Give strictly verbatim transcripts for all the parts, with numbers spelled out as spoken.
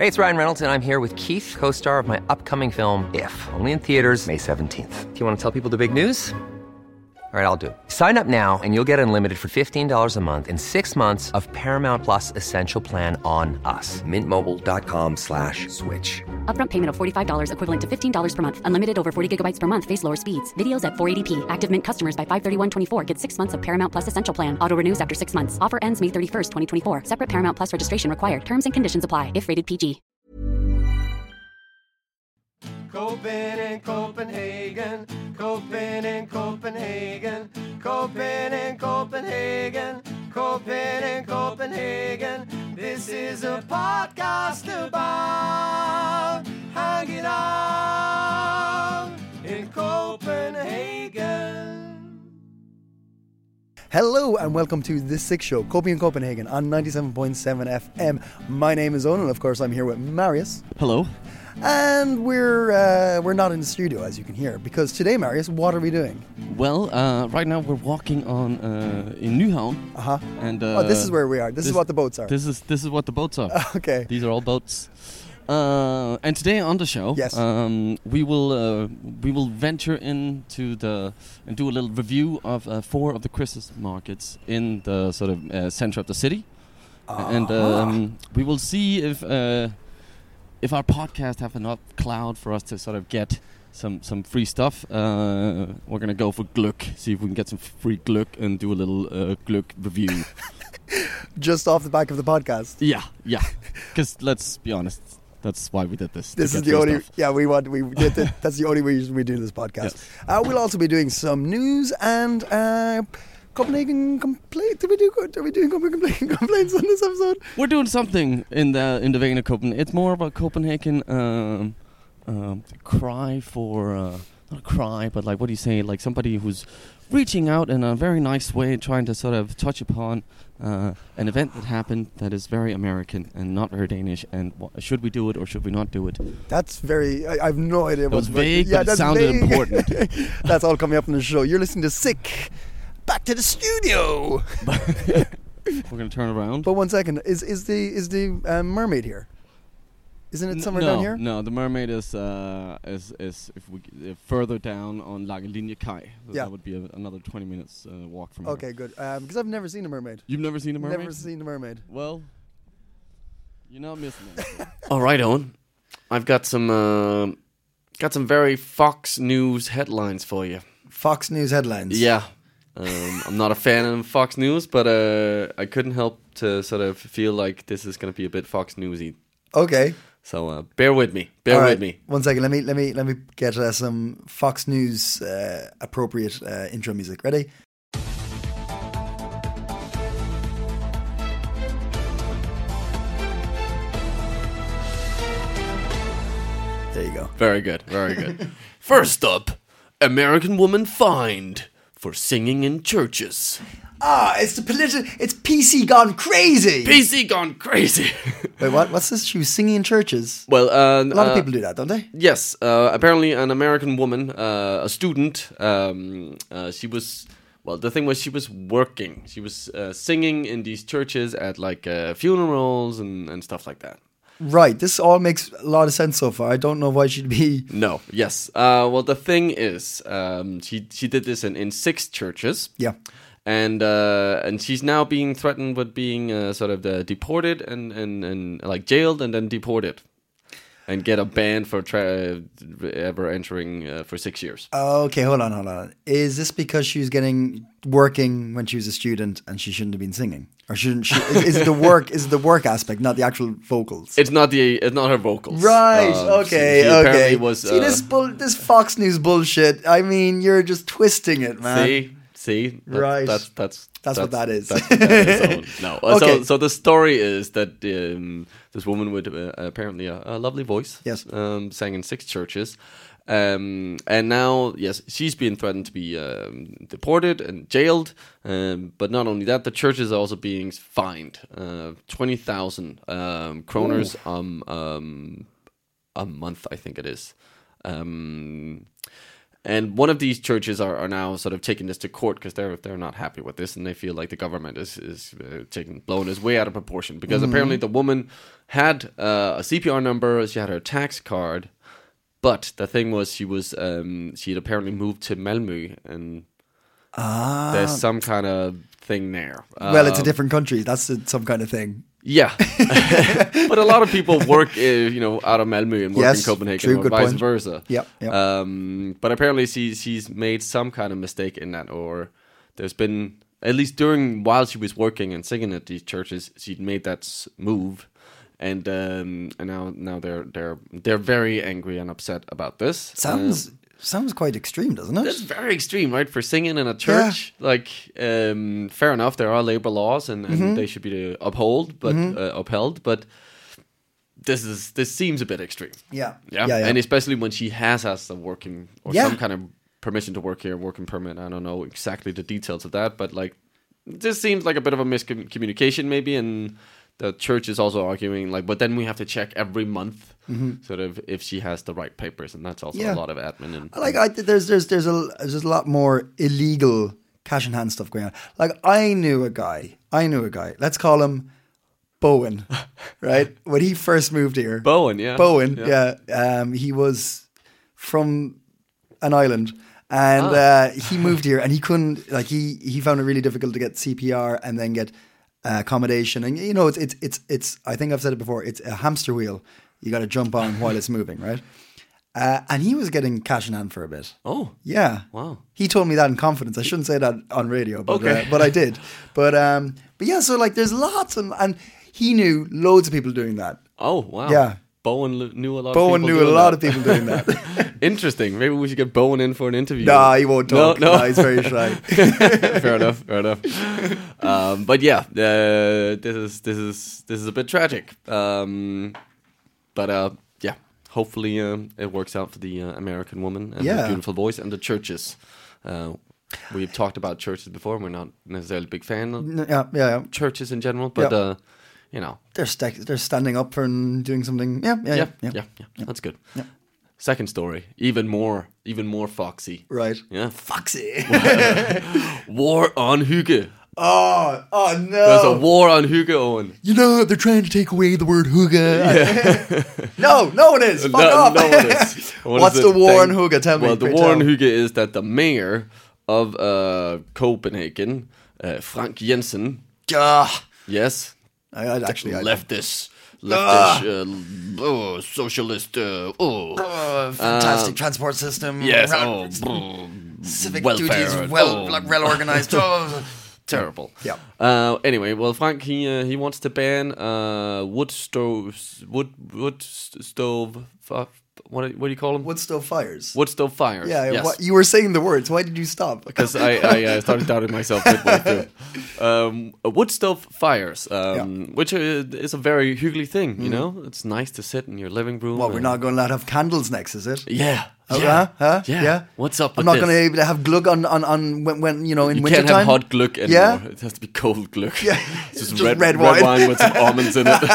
Hey, it's Ryan Reynolds, and I'm here with Keith, co-star of my upcoming film, If, only in theaters May seventeenth. Do you want to tell people the big news? All right, I'll do it. Sign up now and you'll get unlimited for fifteen dollars a month and six months of Paramount Plus Essential Plan on us. Mintmobile.com slash switch. Upfront payment of forty-five dollars equivalent to fifteen dollars per month. Unlimited over forty gigabytes per month. Face lower speeds. Videos at four eighty p. Active Mint customers by five thirty-one twenty-four get six months of Paramount Plus Essential Plan. Auto renews after six months. Offer ends May thirty-first, twenty twenty-four. Separate Paramount Plus registration required. Terms and conditions apply if rated P G. Copen in Copenhagen, Copen in Copenhagen, Copen in Copenhagen, Copen in Copenhagen. This is a podcast about hanging out in Copenhagen. Hello and welcome to The Sick Show, Coping in Copenhagen on ninety-seven point seven F M. My name is Owen and of course I'm here with Marius. Hello. And we're uh, we're not in the studio, as you can hear, because today, Marius, what are we doing? Well, uh, right now we're walking on uh, in Nyhavn. Uh-huh. And uh, oh, this is where we are. This, this is what the boats are. This is this is what the boats are. Okay. These are all boats. Uh, and today on the show, yes, um, we will uh, we will venture into the and do a little review of uh, four of the Christmas markets in the sort of uh, center of the city, uh-huh. and um, we will see if. Uh, If our podcast have enough cloud for us to sort of get some, some free stuff, uh, we're going to go for Gluck, see if we can get some free Gluck and do a little uh, Gluck review. Just off the back of the podcast? Yeah, yeah. Because let's be honest, that's why we did this. This is the only, stuff. yeah, we want, we did it. That's the only reason we do this podcast. Yes. Uh, we'll also be doing some news and uh, Copenhagen complaint. Did we do? Are we doing Copenhagen complaints on this episode? We're doing something in the in the vein of Copenhagen. It's more about Copenhagen um, um, cry for uh, not a cry, but like what do you say? Like somebody who's reaching out in a very nice way, trying to sort of touch upon uh, an event that happened that is very American and not very Danish. And wh- should we do it or should we not do it? That's very. I, I have no idea. It was vague, yeah, but it sounded vague. Important. That's all coming up in the show. You're listening to Sick. Back to the studio. We're gonna turn around. But one second, is is the is the um, mermaid here? Isn't it somewhere no, down here? No, the mermaid is uh, is is if we uh, further down on Langelinie Kai. So yeah. That would be a, another twenty minutes uh, walk from okay, here. Okay, good. Because um, I've never seen a mermaid. You've never seen a mermaid? Never seen a mermaid. Well, you're not missing it. All right, Owen. I've got some uh, got some very Fox News headlines for you. Fox News headlines. Yeah. Um, I'm not a fan of Fox News, but uh, I couldn't help to sort of feel like this is going to be a bit Fox Newsy. Okay. So uh, bear with me. Bear All with right. me. One second. Let me let me let me get uh, some Fox News uh, appropriate uh, intro music. Ready? There you go. Very good. Very good. First up, American woman fined for singing in churches. Ah, it's the political. It's P C gone crazy. P C gone crazy. Wait, what? What's this? She was singing in churches. Well, uh, a lot uh, of people do that, don't they? Yes. Uh, apparently, an American woman, uh, a student. Um, uh, she was. Well, the thing was, she was working. She was uh, singing in these churches at like uh, funerals and, and stuff like that. Right. This all makes a lot of sense so far. I don't know why she'd be. No. Yes. Uh, well, the thing is, um, she she did this in, in six churches. Yeah. And uh, and she's now being threatened with being uh, sort of uh, deported and, and, and like jailed and then deported, and get a ban for tra- ever entering uh, for six years. Okay, hold on, hold on. Is this because she was getting working when she was a student and she shouldn't have been singing, or shouldn't she? Is, is it the work? Is it the work aspect, not the actual vocals? It's not the it's not her vocals. Right. Um, okay. she, she okay. Was, See uh, this bull, this Fox News bullshit. I mean, you're just twisting it, man. See. See, that, right? That's that's that's, that's what that is. That's what that is. No, uh, okay. so so the story is that um, this woman with uh, apparently a, a lovely voice, yes, um, sang in six churches, um, and now yes, she's being threatened to be um, deported and jailed. Um, but not only that, the church is also being fined uh, twenty thousand um, kroners um, um, a month, I think it is. Um, And one of these churches are, are now sort of taking this to court because they're they're not happy with this, and they feel like the government is is uh, taking blowing this way out of proportion. Because mm-hmm. apparently the woman had uh, a C P R number, she had her tax card, but the thing was she was um, she had apparently moved to Malmö, and ah. there's some kind of thing there. Well, uh, it's a different country. That's a, some kind of thing. Yeah, but a lot of people work, uh, you know, out of Malmö and work yes, in Copenhagen, true, or good vice point. versa. Yeah, yeah. Um, but apparently, she she's made some kind of mistake in that, or there's been at least during while she was working and singing at these churches, she'd made that s- move, and um, and now now they're they're they're very angry and upset about this. Sounds. Uh, Sounds quite extreme, doesn't it? That's very extreme, right? For singing in a church, yeah. like, um, fair enough, there are labor laws, and, and mm-hmm. they should be upheld, but mm-hmm. uh, upheld. But this is this seems a bit extreme. Yeah. yeah, yeah, yeah. And especially when she has has a working or yeah. some kind of permission to work here, working permit. I don't know exactly the details of that, but like, this seems like a bit of a miscommunication, maybe, and the church is also arguing, like, but then we have to check every month, mm-hmm. sort of, if she has the right papers, and that's also yeah. a lot of admin. And like, I, there's there's there's a there's a lot more illegal cash in hand stuff going on. Like, I knew a guy, I knew a guy. Let's call him Bowen, right? When he first moved here, Bowen, yeah, Bowen, yeah. yeah. Um, he was from an island. And ah. uh, he moved here, and he couldn't, like, he, he found it really difficult to get C P R and then get uh, accommodation. And, you know, it's, it's, it's, it's, I think I've said it before, it's a hamster wheel you got to jump on while it's moving, right? Uh, and he was getting cash in hand for a bit. Oh. Yeah. Wow. He told me that in confidence. I shouldn't say that on radio, but, okay. uh, but I did. But, um, but yeah, so, like, there's lots of, and he knew loads of people doing that. Oh, wow. Yeah. Bowen l- knew a lot Bowen of people knew a doing lot that. of people doing that. Interesting. Maybe we should get Bowen in for an interview. Nah, he won't talk. No, no. Nah, he's very shy. fair enough. Fair enough. Um, but yeah, uh, this is this is this is a bit tragic. Um, but uh, yeah, hopefully um, it works out for the uh, American woman and Yeah. the beautiful voice and the churches. Uh, we've talked about churches before. We're not necessarily a big fan of N- yeah, yeah, yeah. churches in general, but Yeah. uh, you know, They're sta- they're standing up for and doing something. Yeah, yeah, yeah, yeah. yeah, yeah, that's good. Yeah. Second story, even more, even more foxy. Right. Yeah. Foxy. War on hygge. oh, oh no. There's a war on hygge, Owen. You know they're trying to take away the word hygge. no, no one is. Fuck no, off. no one is. What What's is the it? war on Thank- hygge? Tell me. Well, the pray war tell. on hygge is that the mayor of uh, Copenhagen, uh, Frank Jensen, Ah, yes, I, I actually I leftist, leftish, uh, oh, socialist, uh, oh, Oh, fantastic transport system. yes, ra- oh, brr, civic welfare, duties, well, oh, like, well organized. Oh. terrible. Yeah. Uh, anyway, well, Frank he uh, he wants to ban uh, wood stoves, wood wood st- stove. F- what do- what do you call them? Wood stove fires. Wood stove fires. Yeah, Yes. what, you were saying the words. Why did you stop? Because I, I uh, started doubting myself midway through. Um, uh, wood stove fires, um, which uh, is a very hygge thing, you know? It's nice to sit in your living room. Well, we're and- not going to let have candles next, is it? Yeah. Oh, yeah. huh? Huh? Yeah. Yeah. What's up I'm with not this? going to be able to have glug on, on, on when, when, you know, in You winter can't time. have hot glögg anymore. Yeah? It has to be cold glögg. Yeah. It's just, Just red, red red wine. wine with some almonds in it.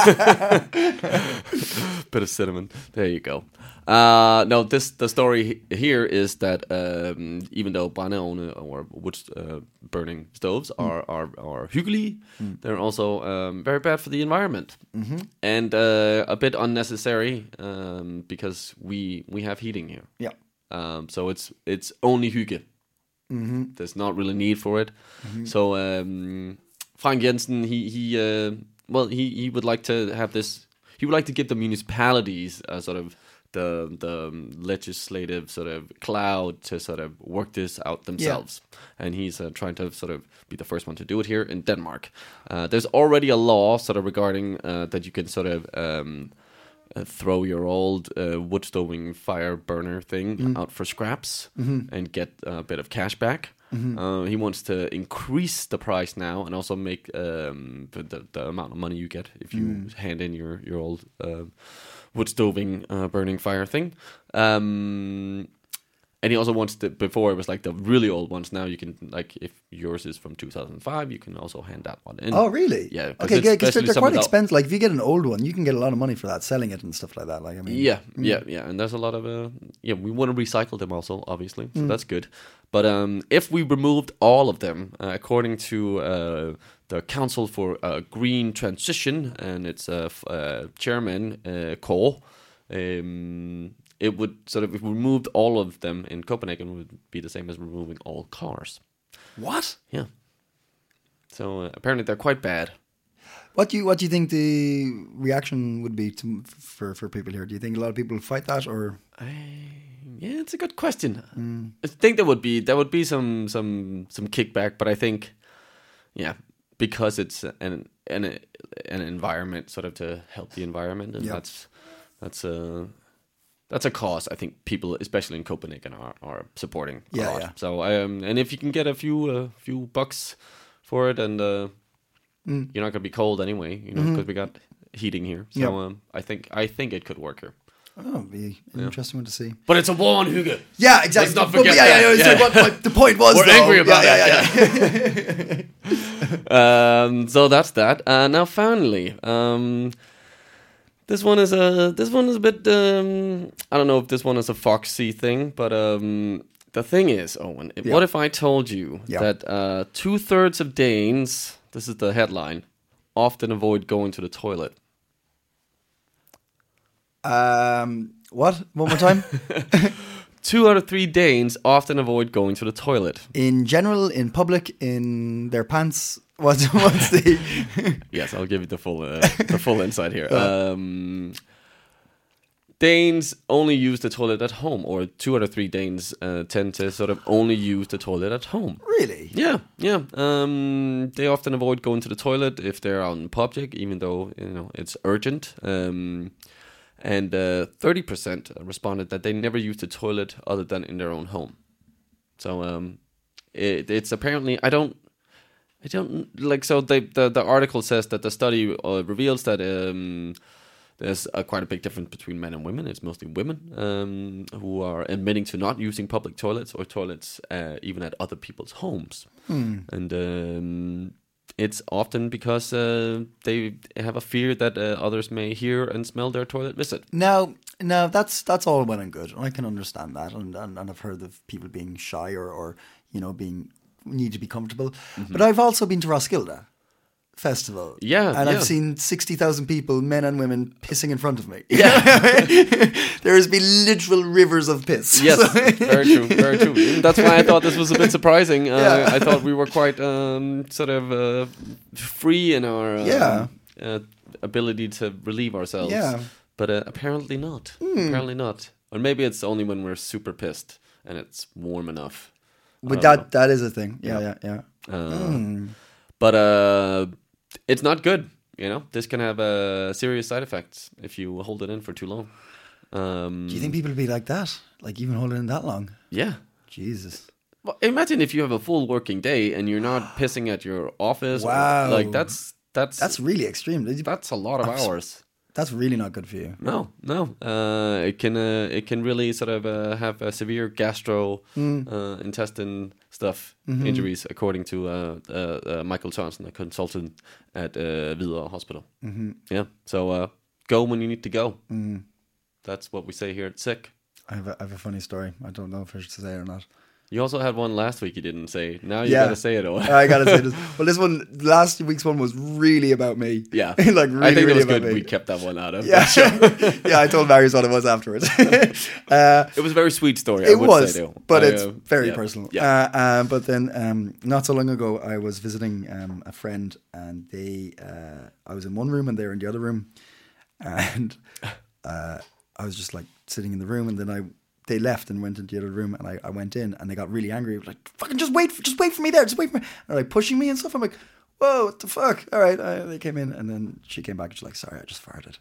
Bit of cinnamon. There you go. Uh, no, this the story he- here is that um, even though brændeovne or wood uh, burning stoves Mm. are are are hyggelige, they're also um, very bad for the environment mm-hmm. and uh, a bit unnecessary um, because we we have heating here. Yeah. Um, so it's it's only hygge. Mm-hmm. There's not really need for it. Mm-hmm. So um, Frank Jensen, he he uh, well he he would like to have this. He would like to give the municipalities a sort of the the legislative sort of cloud to sort of work this out themselves. Yeah. And he's uh, trying to sort of be the first one to do it here in Denmark. Uh, there's already a law sort of regarding uh, that you can sort of um, uh, throw your old uh, wood stoving fire burner thing mm. out for scraps mm-hmm. and get a bit of cash back. Mm-hmm. Uh, he wants to increase the price now and also make um, the, the, the amount of money you get if you mm. hand in your your old uh, wood stoving uh, burning fire thing. Um, And he also wants the, before it was like the really old ones. Now you can, like, if yours is from two thousand five, you can also hand that one in. Oh, really? Yeah. Okay, yeah, because they're, they're quite that, expensive. Like, if you get an old one, you can get a lot of money for that, selling it and stuff like that. Like, I mean, yeah, mm. yeah, yeah. And there's a lot of, uh, yeah, we want to recycle them also, obviously. So mm. that's good. But um, if we removed all of them, uh, according to uh, the Council for uh, Green Transition and its uh, f- uh, chairman, uh, Kåre, um, it would sort of, if we removed all of them in Copenhagen, it would be the same as removing all cars. What? Yeah. So uh, apparently they're quite bad. What do you what do you think the reaction would be to, for for people here? Do you think a lot of people fight that, or? I, yeah, it's a good question. Mm. I think there would be there would be some some some kickback, but I think, yeah, because it's an an an environment sort of to help the environment, and yeah. that's that's a. That's a cause I think people, especially in Copenhagen, are, are supporting a yeah, lot. Yeah. So, um, and if you can get a few uh, few bucks for it, and uh, mm. you're not going to be cold anyway, you know, because mm-hmm. we got heating here. So, yep. um, I think I think it could work here. Oh, it'd be an yeah. interesting one to see. But it's a war on Hygge. Yeah, exactly. Let's not forget but, yeah, that. Yeah, yeah, yeah. Like what, what the point was. We're though. angry about yeah, it. Yeah, yeah. um, so that's that. Uh, now, finally. Um, This one is a this one is a bit um, I don't know if this one is a Foxy thing, but um, the thing is, Owen, yeah. what if I told you yeah. that uh, two thirds of Danes, this is the headline, often avoid going to the toilet? Um, what? One more time. Two out of three Danes often avoid going to the toilet. In general, in public, in their pants. What's what's the? Yes, I'll give you the full uh, the full insight here. Um, Danes only use the toilet at home, or two out of three Danes uh, tend to sort of only use the toilet at home. Really? Yeah, yeah. Um, they often avoid going to the toilet if they're out in public, even though you know it's urgent. Um, and uh, thirty percent responded that they never use the toilet other than in their own home. So um, it, it's apparently I don't. I don't like so. They, the the article says that the study uh, reveals that um, there's a, quite a big difference between men and women. It's mostly women um, who are admitting to not using public toilets or toilets uh, even at other people's homes, hmm. and um, it's often because uh, they have a fear that uh, others may hear and smell their toilet visit. Now, now that's that's all well and good. I can understand that, and and, and I've heard of people being shy or, or you know being. Need to be comfortable, mm-hmm. but I've also been to Roskilde Festival, yeah, and yeah. I've seen sixty thousand people, men and women, pissing in front of me. Yeah, there has been literal rivers of piss. Yes, very true, very true. That's why I thought this was a bit surprising. Uh, yeah. I thought we were quite um, sort of uh, free in our uh, yeah. uh, ability to relieve ourselves. Yeah, but uh, apparently not. Mm. Apparently not. Or maybe it's only when we're super pissed and it's warm enough. But that know. that is a thing. Yeah, yeah, yeah. yeah. Uh, mm. But uh, it's not good. You know, this can have uh, serious side effects if you hold it in for too long. Um, Do you think people would be like that? Like even hold it in that long? Yeah. Jesus. Well, imagine if you have a full working day and you're not pissing at your office. Wow. Or, like that's that's that's really extreme. That's a lot of that's, hours. That's really not good for you. No, no. Uh, it can uh, it can really sort of uh, have a severe gastro mm. uh, intestine stuff mm-hmm. injuries, according to uh, uh, uh, Michael Thompson, a consultant at uh, Hvidovre Hospital. Mm-hmm. Yeah. So uh, go when you need to go. Mm. That's what we say here at Sick. I have, a, I have a funny story. I don't know if I should say it or not. You also had one last week you didn't say. Now you yeah. gotta say it. I gotta say this. Well, this one, last week's one was really about me. Yeah, like really, I think really it was about good. me. We kept that one out of. Yeah, sure. yeah. I told Marius what it was afterwards. uh, it was a very sweet story. It I would was, say, though. but I, it's uh, very yeah. personal. Yeah. Uh, um, but then, um, not so long ago, I was visiting um, a friend, and they, uh, I was in one room, and they were in the other room, and uh, I was just like sitting in the room, and then I. They left and went into the other room, and I, I went in, and they got really angry. It was like, "Fucking just wait, just wait for me there, just wait for me." And they're like pushing me and stuff. I'm like, "Whoa, what the fuck?" All right, uh, they came in, and then she came back and she's like, "Sorry, I just farted."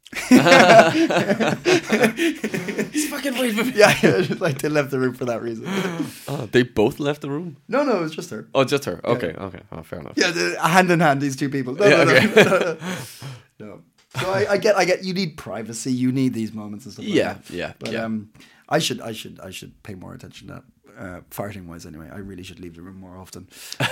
Just fucking wait for me. Yeah, yeah, just like they left the room for that reason. Oh, they both left the room? No, no, it was just her. Oh, just her. Okay, yeah. okay, oh, fair enough. Yeah, the, hand in hand, these two people. No, yeah, no, okay. no, no, no. no. So I, I get, I get. You need privacy. You need these moments and stuff. Like Yeah, that. yeah, But yeah. um, I should, I should, I should pay more attention to that. Uh, farting wise, anyway, I really should leave the room more often.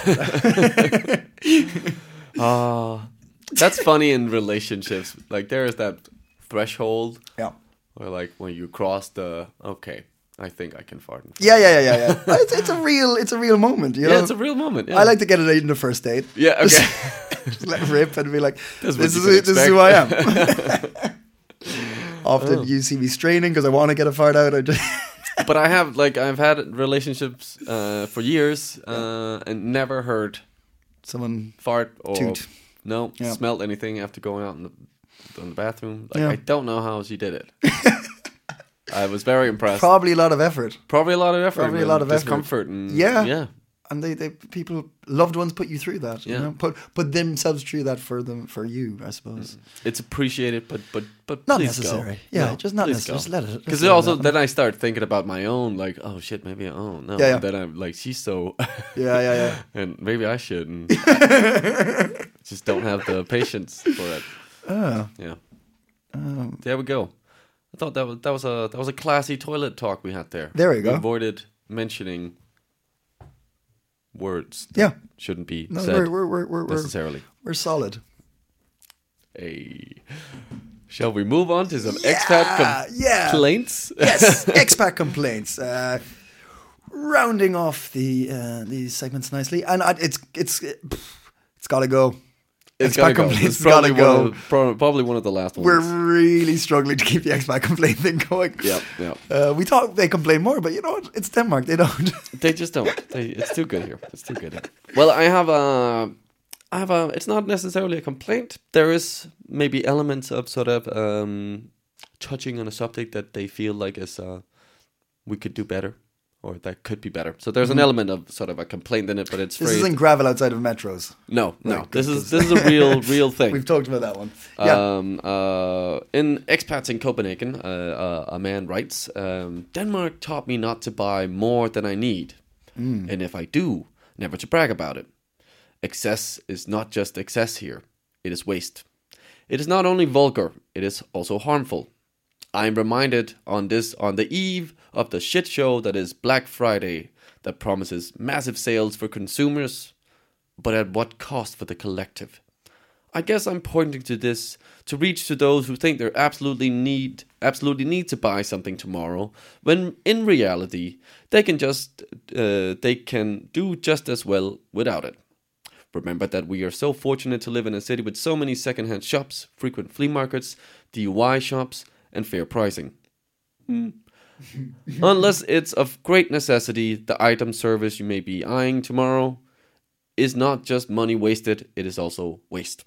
Uh, that's funny in relationships. Like there is that threshold Yeah. where like when you cross the okay, I think I can fart. in front. Yeah, yeah, yeah, yeah, yeah. It's, it's a real, it's a real moment. You know? Yeah, it's a real moment. Yeah. I like to get it in the first date. Yeah, okay. Just let it rip and be like, That's this what is you this can is who I am. expect. Often Oh. you see me straining because I want to get a fart out. I just But I have like I've had relationships uh, for years uh, and never heard someone. fart or Toot. no Yeah. smelled anything after going out in the, in the bathroom. Like Yeah. I don't know how she did it. I was very impressed. Probably a lot of effort, Probably a lot of effort. Probably a and lot of effort. discomfort. And, Yeah. yeah. and they, they people loved ones put you through that. You Yeah. know? put put themselves through that for them for you, I suppose. It's appreciated, but but but Not please necessary. Go. Yeah, No, just not please necessary. go. Just let it- just Because let it also happen. then I start thinking about my own, like, oh shit, maybe oh no. Yeah, yeah. Then I'm like, she's so. Yeah, yeah, yeah. And maybe I shouldn't. Just don't have the patience for it. Oh, Yeah. um, There we go. I thought that was that was a that was a classy toilet talk we had there. There we go. We avoided mentioning words that yeah. shouldn't be No, said we're we're we're we're, we're, necessarily. we're solid. Hey. Shall we move on to some Yeah, expat yeah. complaints? Yes, expat complaints. Uh, rounding off the uh, these segments nicely, and I, it's it's it's got to go. It's expat gotta go. complaints It's probably gotta one go. of, pro- probably one of the last ones. We're really struggling to keep the expat complaint thing going. Yep, yep. Uh, we thought they complain more, but you know what? It's Denmark. They don't. They just don't. They, it's too good here. It's too good here. Well, I have a, I have a. It's not necessarily a complaint. There is maybe elements of sort of um, touching on a subject that they feel like is uh, we could do better, or that could be better. So there's an element of sort of a complaint in it, but it's This phrased- isn't gravel outside of metros. No, no. Right, this good, is this is a real real thing. We've talked about that one. Yeah. Um, uh, in Expats in Copenhagen, uh, uh, a man writes, um, Denmark taught me not to buy more than I need. And if I do, never to brag about it. Excess is not just excess here. It is waste. It is not only vulgar, it is also harmful. I am reminded on this on the eve of the shit show that is Black Friday that promises massive sales for consumers, but at what cost for the collective? I guess I'm pointing to this to reach to those who think they absolutely need absolutely need to buy something tomorrow, when in reality they can just uh, they can do just as well without it. Remember that we are so fortunate to live in a city with so many second-hand shops, frequent flea markets, D I Y shops, and fair pricing. Hmm. Unless it's of great necessity, the item service you may be eyeing tomorrow is not just money wasted, it is also waste.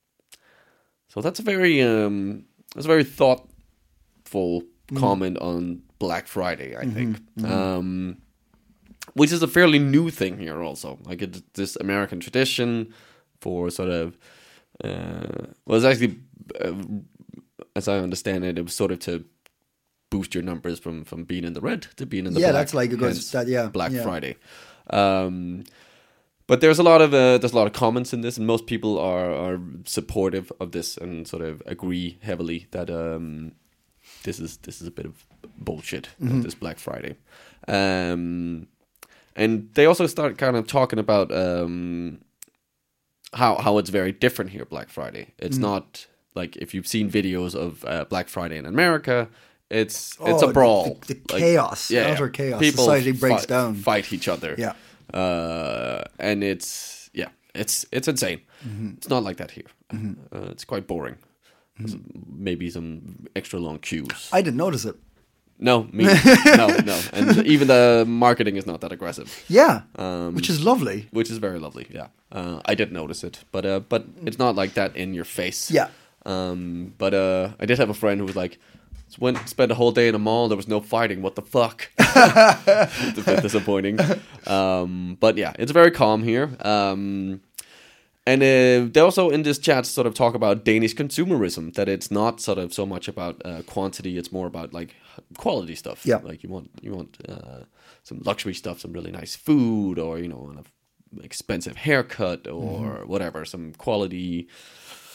So that's a very um, that's a very thoughtful comment on Black Friday, I think. Um, which is a fairly new thing here also. Like it's this American tradition for sort of uh, well, it's actually uh, as I understand it, it was sort of to boost your numbers from from being in the red to being in the Yeah, black. that's like it goes- hence that- yeah, Black yeah. Friday. Um, but there's a lot of uh, there's a lot of comments in this, and most people are are supportive of this and sort of agree heavily that um, this is this is a bit of bullshit. Mm-hmm. This Black Friday, um, and they also start kind of talking about um, how how it's very different here. Black Friday, it's Mm. not like if you've seen videos of uh, Black Friday in America. It's it's Oh, a brawl. the- the chaos, yeah, utter yeah. chaos. People Society breaks fight, down. fight each other. Yeah. uh, and it's yeah, it's it's insane. Mm-hmm. It's not like that here. Uh, it's quite boring. There's maybe some extra long queues. I didn't notice it. no, me, no, no, and even the marketing is not that aggressive, Yeah, Um, which is lovely. which is very lovely. Yeah, uh, I did notice it, but uh, but it's not like that in your face. Yeah. Um, but uh, I did have a friend who was like, went spent a whole day in a mall. There was no fighting. What the fuck? It's a bit disappointing. Um, but yeah, it's very calm here. Um, and uh, they also in this chat sort of talk about Danish consumerism. That it's not sort of so much about uh, quantity. It's more about like quality stuff. Yeah. Like you want you want uh, some luxury stuff, some really nice food, or you know, an expensive haircut, or whatever. Some quality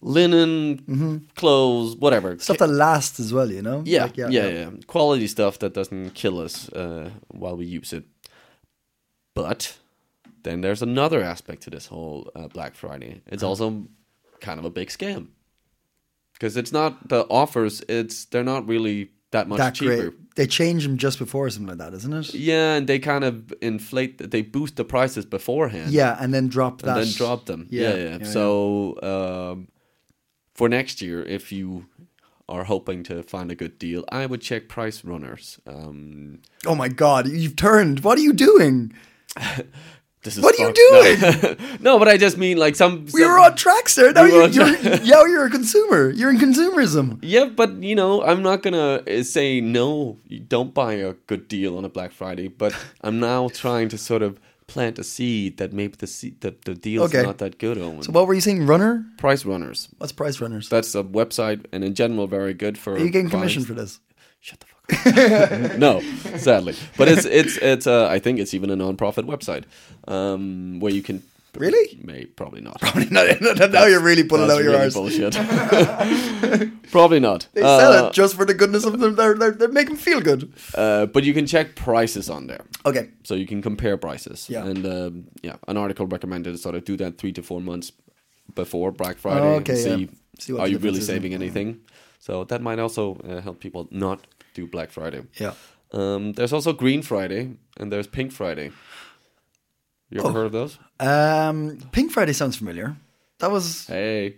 linen, clothes, whatever. Stuff that lasts as well, you know? Yeah, Like, yeah, yeah, yeah. Quality stuff that doesn't kill us uh, while we use it. But then there's another aspect to this whole uh, Black Friday. It's also kind of a big scam. Because it's not the offers, it's they're not really that much that cheaper. great. They change them just before or something like that, isn't it? Yeah, and they kind of inflate, they boost the prices beforehand. Yeah, and then drop that. And then drop them. Yeah, Yeah, yeah. yeah, so um, for next year, if you are hoping to find a good deal, I would check Price Runners. Um, Oh my God, you've turned. What are you doing? this is What are you fucked. doing? No. no, but I just mean like some. We some- were on track, sir. Now We were you're, on you're, track. now you're a consumer. You're in consumerism. Yeah, but you know, I'm not gonna uh, say no. You don't buy a good deal on a Black Friday. But I'm now trying to sort of plant a seed that maybe the seed, the, the deal's Okay. not that good. Owen. So what were you saying, runner? Price Runners. What's Price Runners? That's a website, and in general, very good for. Are you getting buying commission st- for this? Shut the fuck up. No, sadly, but it's it's it's. Uh, I think it's even a non-profit website um, where you can. Really? May probably not. no, no, no, now you're really pulling That's out your really arse. bullshit. Probably not. They sell Uh, it just for the goodness of them. They're, they're, they're making them feel good. uh, but you can check prices on there. Okay. So you can compare prices. Yeah. And um, yeah, an article recommended sort of do that three to four months before Black Friday. Okay, and see, yeah. See what are the you really difference is. saving anything? So that might also uh, help people not do Black Friday. Yeah. Um, there's also Green Friday and there's Pink Friday. You ever Oh. heard of those? Um, Pink Friday sounds familiar. That was... Hey.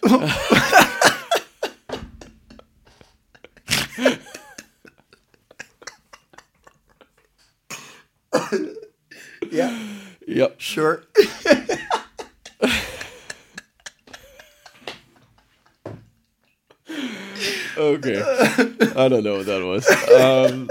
Yeah, Yep. sure. Okay. I don't know what that was. Um,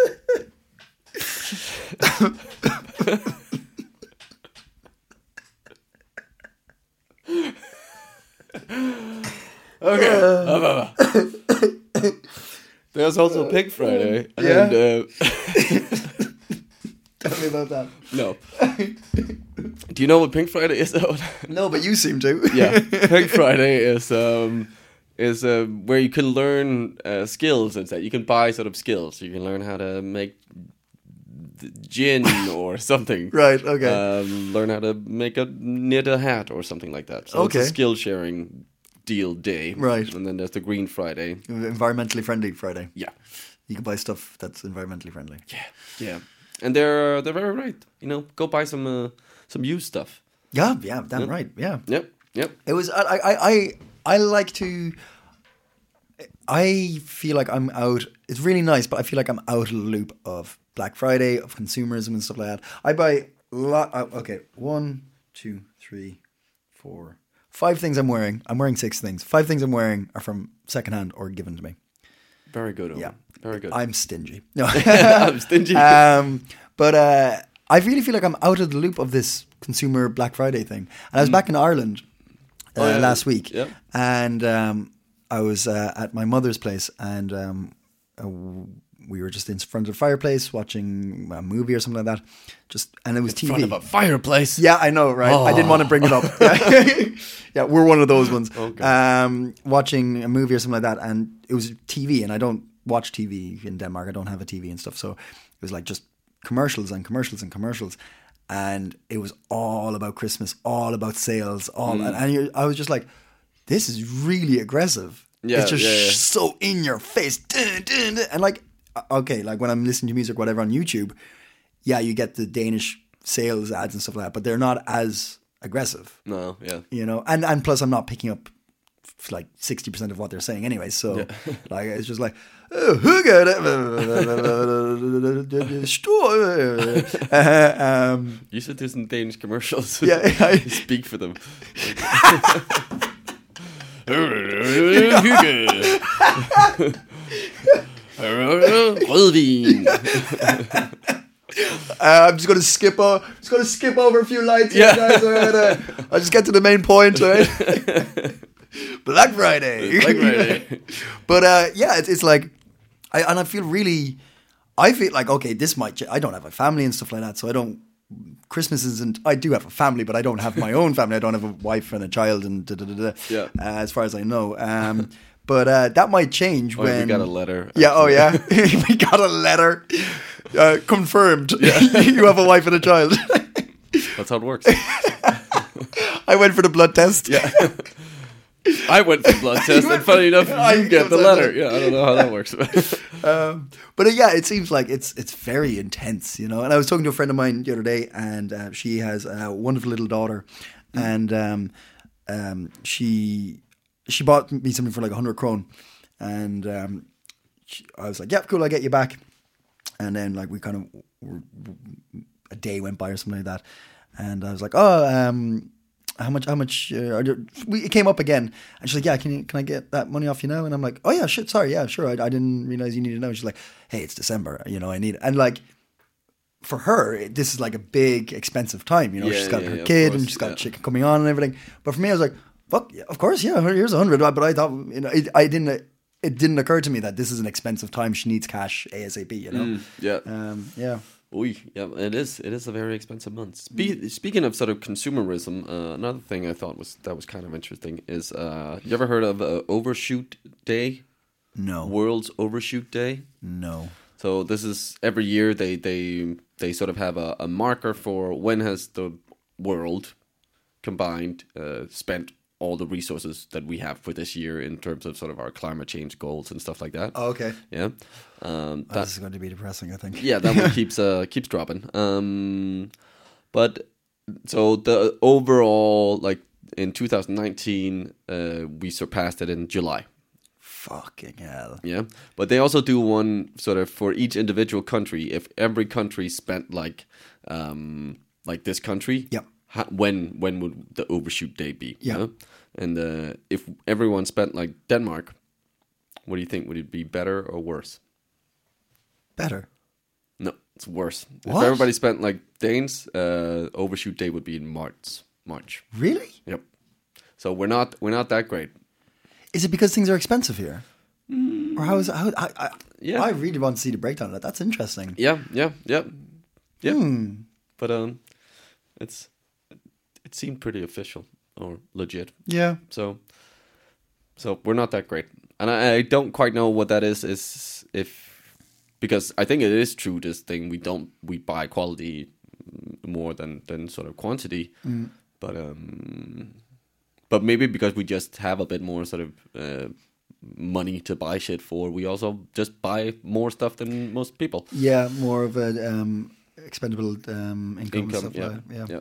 okay. There's also Pink Friday. Yeah. And, uh, Tell me about that. no. Do you know what Pink Friday is? No, but you seem to. Yeah. Pink Friday is um is uh, where you can learn uh, skills instead. You can buy sort of skills. You can learn how to make th- gin or something. Right, okay. Um, learn how to make a knit a hat or something like that. So Okay. it's a skill sharing deal day. Right. And then there's the Green Friday. Environmentally friendly Friday. Yeah. You can buy stuff that's environmentally friendly. Yeah. Yeah. And they're they're very right. You know, go buy some uh, some used stuff. Yeah, yeah, damn right. Yeah. Yep. Yep. It was I I I I like to I feel like I'm out. It's really nice, but I feel like I'm out of the loop of Black Friday, of consumerism and stuff like that. I buy a lot. uh, Okay, one, two, three, four, five things I'm wearing. I'm wearing six things. Five things I'm wearing are from secondhand or given to me. Very good. Owen. Yeah. Very good. I'm stingy. No. I'm stingy. um, but uh, I really feel like I'm out of the loop of this consumer Black Friday thing. And I was back in Ireland uh, Oh, yeah. last week, Yeah. and um, I was uh, at my mother's place, and um, uh, we were just in front of the fireplace watching a movie or something like that. Just and it was T V. front of a fireplace. Yeah, I know, right? I didn't want to bring it up. Yeah, we're one of those ones. Okay. Um, watching a movie or something like that, and it was T V, and I don't watch T V in Denmark. I don't have a T V and stuff, so it was like just commercials and commercials and commercials, and it was all about Christmas, all about sales, all, Mm. and, and you're, I was just like, this is really aggressive. Yeah, it's just yeah, yeah. so in your face, dun, dun, dun. And like, okay, like when I'm listening to music, or whatever on YouTube, yeah, you get the Danish sales ads and stuff like that, but they're not as aggressive, No, yeah. you know. And and plus, I'm not picking up f- like sixty percent of what they're saying anyway. So like, it's just like, oh, who got it? Uh, um, You should do some Danish commercials. Yeah, I- Speak for them. Rødvin. Uh, I'm just gonna skip over. Just gonna skip over a few lines, here, Yeah. guys. All right, uh, I'll just get to the main point. All right? Black Friday. Black Friday. But uh, yeah, it's, it's like, I and I feel really, I feel like okay, this might. ch- I don't have a family and stuff like that, so I don't Christmas isn't. I do have a family, but I don't have my own family. I don't have a wife and a child, and da, da, da, da, Yeah. uh, as far as I know. Um, but uh, that might change Oh, when we got a letter. Yeah. Oh, actually. yeah. We got a letter uh, confirmed. You have a wife and a child. That's how it works. I went for the blood test. Yeah. I went for blood test, and funny enough, I you get the was letter. like- Yeah, I don't know how that works. Um, but uh, yeah, it seems like it's it's very intense, you know. And I was talking to a friend of mine the other day, and uh, she has a wonderful little daughter, and um, um, she she bought me something for like a hundred krone, and um, she, I was like, "Yeah, cool, I'll get you back." And then like we kind of were, a day went by or something like that, and I was like, "Oh, um, how much? How much?" Uh, are you, we, it came up again, and she's like, "Yeah, can you, can I get that money off you now?" And I'm like, "Oh yeah, shit, sorry, yeah, sure. I, I didn't realize you needed to know." She's like, "Hey, it's December, you know, I need it." And like, for her, it- this is like a big, expensive time. You know, Yeah, she's got yeah, her yeah, of kid, course, and she's got yeah. chicken coming on and everything. But for me, I was like, "Fuck, yeah, of course, yeah, here's a hundred." But I thought, you know, it, I didn't. It didn't occur to me that this is an expensive time. She needs cash ASAP. You know. Mm, yeah. Um, yeah. Oi, yeah, it is. It is a very expensive month. Spe- speaking of sort of consumerism, uh, another thing I thought was that was kind of interesting is uh, you ever heard of uh, Overshoot Day? No. World's Overshoot Day. No. So this is every year they they they sort of have a, a marker for when has the world combined uh, spent all the resources that we have for this year in terms of sort of our climate change goals and stuff like that. Oh, okay. Yeah. Um, Oh, that- this is going to be depressing, I think. yeah, that one keeps uh, keeps dropping. Um, but so the overall, like in two thousand nineteen, uh, we surpassed it in July. Fucking hell. Yeah, but they also do one sort of for each individual country. If every country spent like um, like this country, Yep. ha- when when would the overshoot day be? Yeah. You know? And uh, if everyone spent like Denmark, what do you think? Would it be better or worse? Better. No, it's worse. What? If everybody spent like Danes, uh, overshoot day would be in March. March. Really? Yep. So we're not we're not that great. Is it because things are expensive here? Or how is it? How, I, I, Yeah. I really want to see the breakdown of that. That's interesting. Yeah, yeah, yeah, yeah. Hmm. But um, it's it seemed pretty official or legit. Yeah. So so we're not that great, and I, I don't quite know what that is. Is if because I think it is true. This thing we don't we buy quality more than than sort of quantity, Mm. but um, but maybe because we just have a bit more sort of uh, money to buy shit for, we also just buy more stuff than most people. Yeah, more of a um, expendable um, income, and Income, stuff yeah, like that. Yeah. yeah.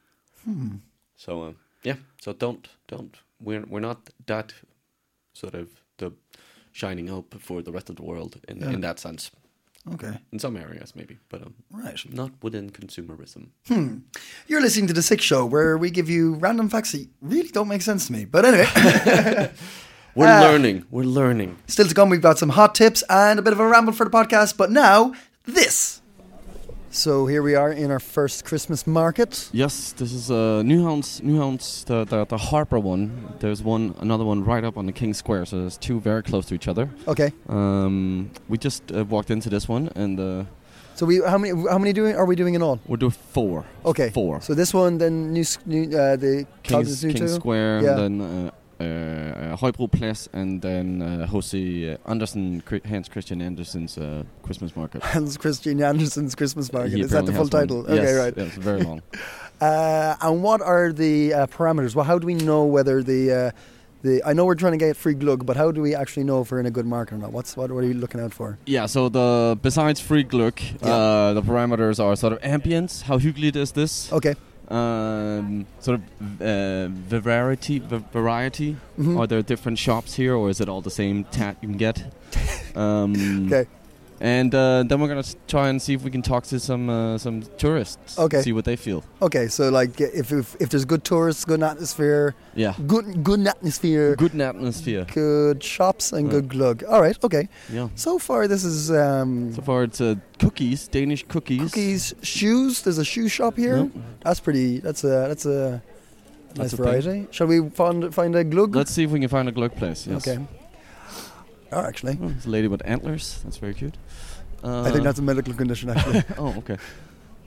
So um, yeah, so don't don't we're we're not that sort of the shining hope for the rest of the world in Yeah. in that sense. Okay. In some areas, maybe, but um, Right. not within consumerism. You're listening to The Sick Show, where we give you random facts that really don't make sense to me. But anyway, We're Ah. learning. We're learning. still to come, we've got some hot tips and a bit of a ramble for the podcast. But now, this. So here we are in our first Christmas market. Yes, this is uh, Nyhavns, Nyhavns, the, the the Harper one. There's one, another one right up on the King Square. So there's two very close to each other. Okay. Um, we just uh, walked into this one, and uh, So we how many how many doing are we doing in all? we're doing four. Okay. Four. So this one, then new, s- new uh, the King's, Cloud's new King too? Square, Yeah. and then uh, uh, Højbro Plads, and then uh, Jose uh, Andersen, Chri- Hans Christian Andersen's uh, Christmas market. Hans Christian Andersen's Christmas market. He Is that the full apparently title? has one. Okay, Yes, right. Yeah, it's very long. Uh, and what are the uh, parameters? Well, how do we know whether the uh, the? I know we're trying to get free glug, but how do we actually know if we're in a good market or not? What's what? What are you looking out for? Yeah, so the besides free glug, Yeah. uh, the parameters are sort of ambience. How hyggeligt is this? Okay. Um, sort of uh, variety. v- Variety. Mhm. Are there different shops here, or is it all the same tat you can get? Um, Okay. And uh, then we're gonna s- try and see if we can talk to some uh, some tourists. Okay. See what they feel. Okay. So like, if if, if there's good tourists, good atmosphere, Yeah. good good atmosphere, Good atmosphere. good shops, and Yeah. good glug. All right. Okay. Yeah. So far, this is um, So far, it's uh, cookies, Danish cookies. cookies, shoes. There's a shoe shop here. Yep. That's pretty. That's a that's a nice a thing. variety. Shall we find find a glug? Let's see if we can find a glug place. Yes. Okay. Oh, actually, Oh, it's a lady with antlers. That's very cute. Uh, I think that's a medical condition. Actually. Oh, okay.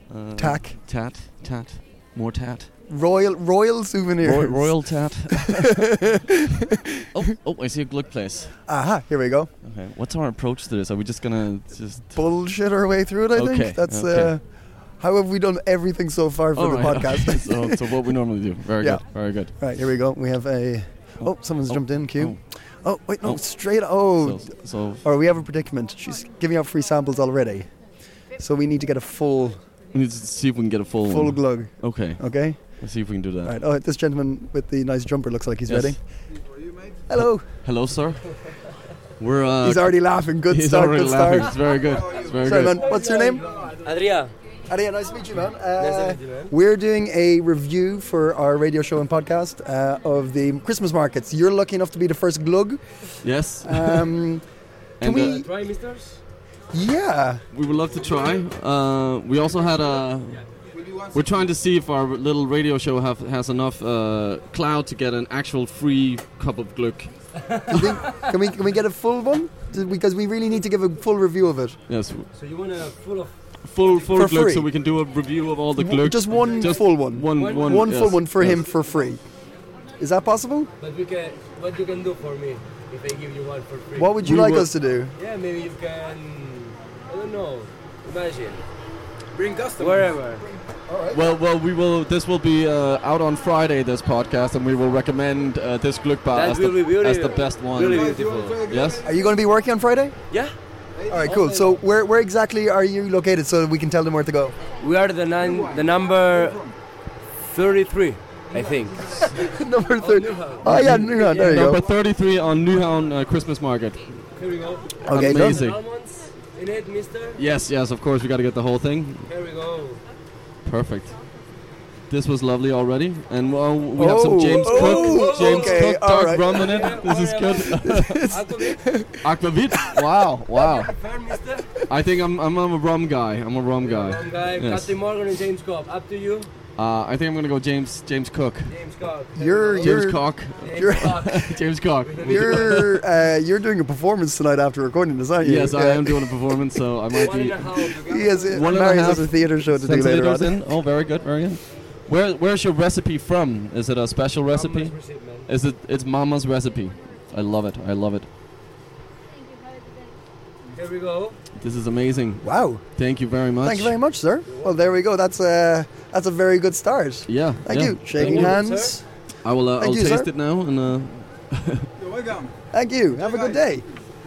Uh, Tack. Tat. Tat. More tat. Royal Royal souvenirs. Roy- Royal tat. oh, oh, I see a Gluck place. Aha, here we go. Okay, what's our approach to this? Are we just gonna just... Bullshit our way through it, I Okay, think. That's okay. uh, how have we done everything so far for All the right, podcast. okay. so, so what we normally do. Very Yeah. good. Very good. Right, here we go. We have a... Oh, someone's Oh, jumped in, Q. oh. Oh, wait, no, Oh. straight... Oh, So, so or we have a predicament. She's giving out free samples already. So we need to get a full we need to see if we can get a full full one. glug, Okay. okay? Let's see if we can do that. Right. Oh, this gentleman with the nice jumper looks like he's Yes. ready. Hello. Hello, sir. We're. Uh, He's already laughing. Good he's start, already good laughing. start. It's very good. It's very Sorry, good. man. What's your name? Adria. Adia, nice to meet you, man. Nice Uh, to meet you, man. We're doing a review for our radio show and podcast uh, of the Christmas markets. You're lucky enough to be the first glug. Yes. Um, can And, we? uh, Try, misters. Yeah. We would love to try. Uh, we also had a. We're trying to see if our little radio show have, has enough uh, clout to get an actual free cup of Gluck. Do you think? Can we? Can we get a full one? Do- Because we really need to give a full review of it. Yes, So you want a full of full full For Gluck, free. so we can do a review of all the Gluck. Just one Just full one. One One- one, One yes, full one for yes. him for free. Is that possible? but we can what you can do for me if I give you one for free. What would you We like will- us to do? Yeah, maybe you can I don't know. Imagine. Bring customers. Wherever. Well, well, we will. This will be uh, out on Friday. This podcast, and we will recommend uh, this Gluck bar That as will the, be beautiful. as the best one. Really beautiful. Yes. Are you going to be working on Friday? Yeah. All right, cool. So where where exactly are you located so we can tell them where to go? We are the nine the number thirty-three, I think. Number thirty. Oh yeah, no, no, there you Number go. thirty-three on Newhound uh, Christmas Market. Here we go. Okay, done. Amazing. Almonds in it, mister. Yes, yes. Of course, we got to get the whole thing. Here we go. Perfect. This was lovely already, and well, we have some Oh, James oh, Cook, James okay, Cook all dark right. rum in it. This is good. Aquavit. Aquavit. Wow, wow. Fair, mister. I think I'm, I'm I'm a rum guy. I'm a rum guy. Wrong guy. Yes. Captain Morgan and James Cobb. Up to you. Uh, I think I'm gonna go James James Cook. James Cobb. You're James you're Cock. James you're- Cobb. James Cock. you're uh, you're doing a performance tonight after recording this, aren't you? Yes, I Yeah. am doing a performance, so I might One be. and a half. He has One one and a Marius half has a theatre show to do later Centiliters on. in. Oh, very good, very good. Where where's your recipe from? Is it a special recipe? Mama's receipt, man. Is it? It's Mama's recipe. I love it. I love it. Here we go. This is amazing. Wow! Thank you very much. Thank you very much, sir. Well, there we go. That's a that's a very good start. Yeah. Thank yeah. you. Shaking you, hands. I will. Uh, Thank I'll you, taste sir. it now, and uh, Thank you. Have a good day.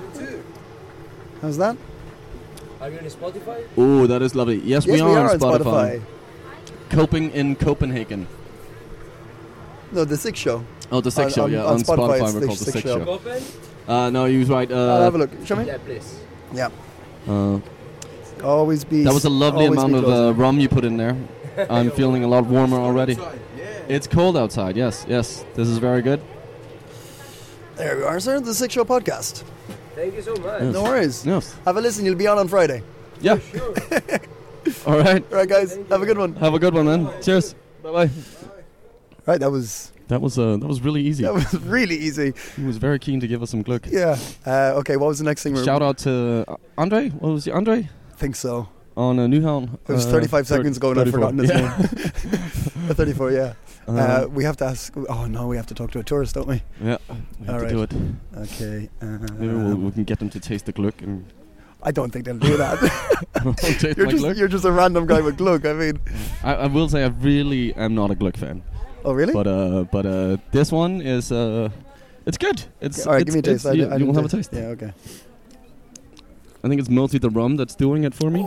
How's that? Are you on Spotify? oh, that is lovely. Yes, Yes, we are on Spotify. Coping in Copenhagen. No, the Six Show. Oh, the Six On- Show. on- yeah, on on, Spotify, Spotify, it's we're the called the Six Six Show. Show. Open? Uh, no, he was right. I'll have a Uh, look. Show me. Yeah, please. Yeah. uh, Always be. that was a lovely always amount be of closing. uh, rum you put in there. I'm feeling a lot warmer already. It's cold outside. Yes, yes. This is very good. There we are, sir. The Six Show podcast. Thank you so much. Yes. No worries. Yes. Have a listen. You'll be on on Friday. Yeah. All right. All right, guys. Have a good one. Have a good one, man. Cheers. Bye bye. Right. That was That was uh, that was really easy. that was really easy. He was very keen to give us some Gluck. Yeah. Uh, okay. What was the next thing? we were- Shout out to uh, Andre. What was it? Andre think so. on uh, Newhound. It was uh, thirty-five thir- seconds ago, and I've thirty-four. forgotten his Yeah. name. thirty-four. Yeah. Uh, Uh, we have to ask. Oh no, we have to talk to a tourist, don't we? yeah. We have all to right. do it. Okay. Maybe we'll, Um, we can get them to taste the Gluck and I don't think they'll do that. taste you're my just Gluck. you're just a random guy with Gluck. I mean, I, I will say I really am not a Gluck fan. oh really? But uh, but uh, this one is uh, it's good. It's all right, it's, give me a taste. it's- I, You, I you didn't will have a taste. taste. Yeah. Okay. I think it's mostly the rum that's doing it for me.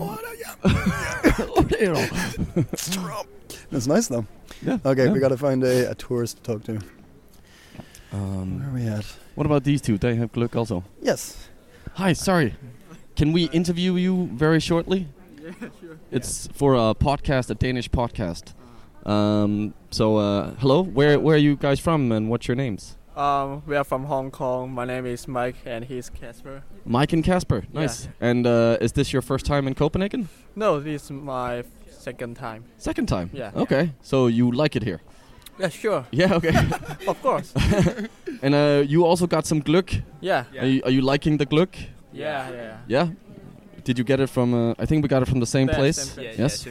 That's nice though. Yeah. Okay, yeah. we got to find a, a tourist to talk to. Where Um, are we at? what about these two? They have Gluck also. Yes. Hi, sorry. Can we interview you very shortly? Yeah, sure. It's for a podcast, a Danish podcast. Um, so, uh, hello. Where where are you guys from, and what's your names? Um, we are from Hong Kong. My name is Mike, and he's Casper. Mike and Casper. Nice. And uh, is this your first time in Copenhagen? No, this is my second time. Second time. Yeah. Okay. So you like it here? Yeah, sure. Yeah. Okay. Of course. And uh, you also got some Gluck. Yeah. Are, you, are you liking the Gluck? Yeah, yeah. Yeah. Did you get it from? Uh, I think we got it from the same Yeah, place. same place. Yes. Yeah, same place.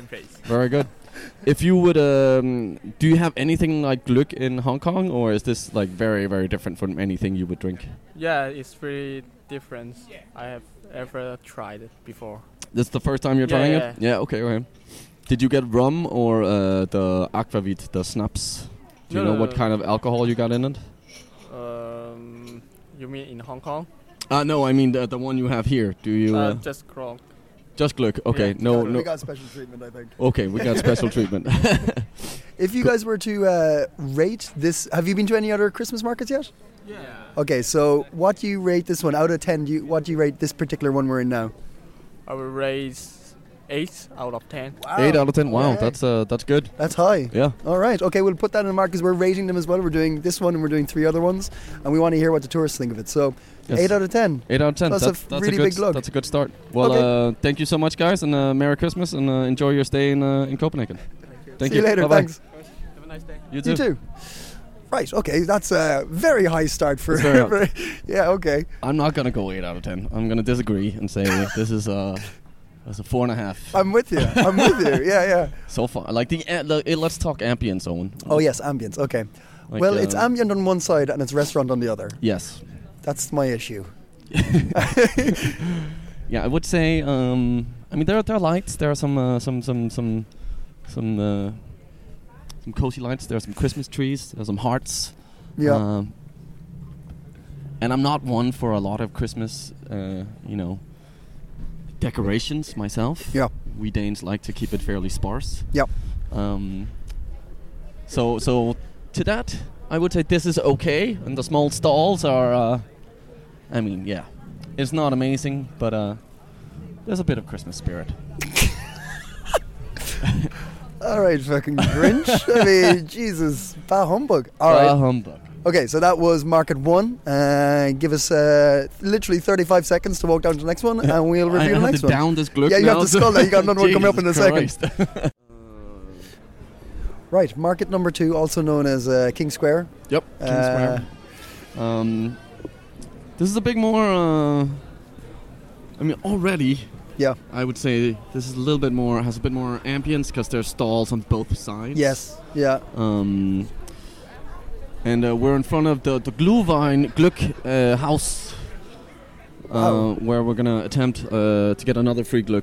Very good. If you would, um, do you have anything like glögg in Hong Kong, or is this like very, very different from anything you would drink? Yeah, it's pretty different. I have ever tried it before. This is the first time you're Yeah, trying yeah. it? Yeah, okay, okay. Did you get rum or uh, the aquavit, the snaps? Do you No, know no, what no. kind of alcohol you got in it? Um, you mean in Hong Kong? Uh, no, I mean the, the one you have here. Do you... Uh, Uh, just Kronk. just glögg, okay. Yeah. No, We no. got special treatment, I think. Okay, we got special treatment. If you guys were to uh, rate this, have you been to any other Christmas markets yet? Yeah. Okay, so what do you rate this one out of ten? Do you, what do you rate this particular one we're in now? I will raise eight out of ten. Eight out of ten. Wow, Okay. that's uh, that's good. That's high. Yeah. All right. Okay, we'll put that in the mark because we're rating them as well. We're doing this one and we're doing three other ones, and we want to hear what the tourists think of it. So, Yes. eight out of ten. Eight out of ten. That's a That's, f- that's really a good, big glögg. That's a good start. Well, Okay. uh, thank you so much, guys, and uh, Merry Christmas, and uh, enjoy your stay in uh, in Copenhagen. Thank See you later. Bye-bye. Thanks. Have a nice day. You too. You too. Right. Okay. That's a very high start for. That's very high. for- yeah. Okay. I'm not gonna go eight out of ten. I'm gonna disagree and say this is a that's a four and a half. I'm with you. I'm with you. Yeah. Yeah. So far, like the, uh, the uh, let's talk ambience, Owen. Oh yes, ambience. Okay. Like, well, uh, it's ambient on one side and it's restaurant on the other. Yes. That's my issue. Yeah, I would say. Um, I mean, there are there are lights. There are some uh, some some some some uh, some cozy lights. There are some Christmas trees. There are some hearts. Yeah. Um, and I'm not one for a lot of Christmas, uh, you know, decorations myself. Yeah. We Danes like to keep it fairly sparse. Yep. Um, so so to that, I would say this is okay, and the small stalls are. Uh, I mean, yeah, it's not amazing, but uh, there's a bit of Christmas spirit. All right, fucking Grinch. I mean, Jesus, bah humbug. All Bah right. humbug. Okay, so that was market one. Uh, give us uh, literally thirty-five seconds to walk down to the next one, and we'll review I the have next to one. down this glögg Yeah, you now, have to so- skull that. You got another one coming up in a Jesus second. Christ. Right, market number two, also known as uh, King Square. Yep, King Uh, Square. Um, this is a bit more. Uh, I mean, already, Yeah. I would say this is a little bit more. Has a bit more ambience because there's stalls on both sides. Yes. Yeah. Um, and uh, we're in front of the the Glühwein Glück uh, house, uh, Wow. where we're gonna attempt uh, to get another free Glück.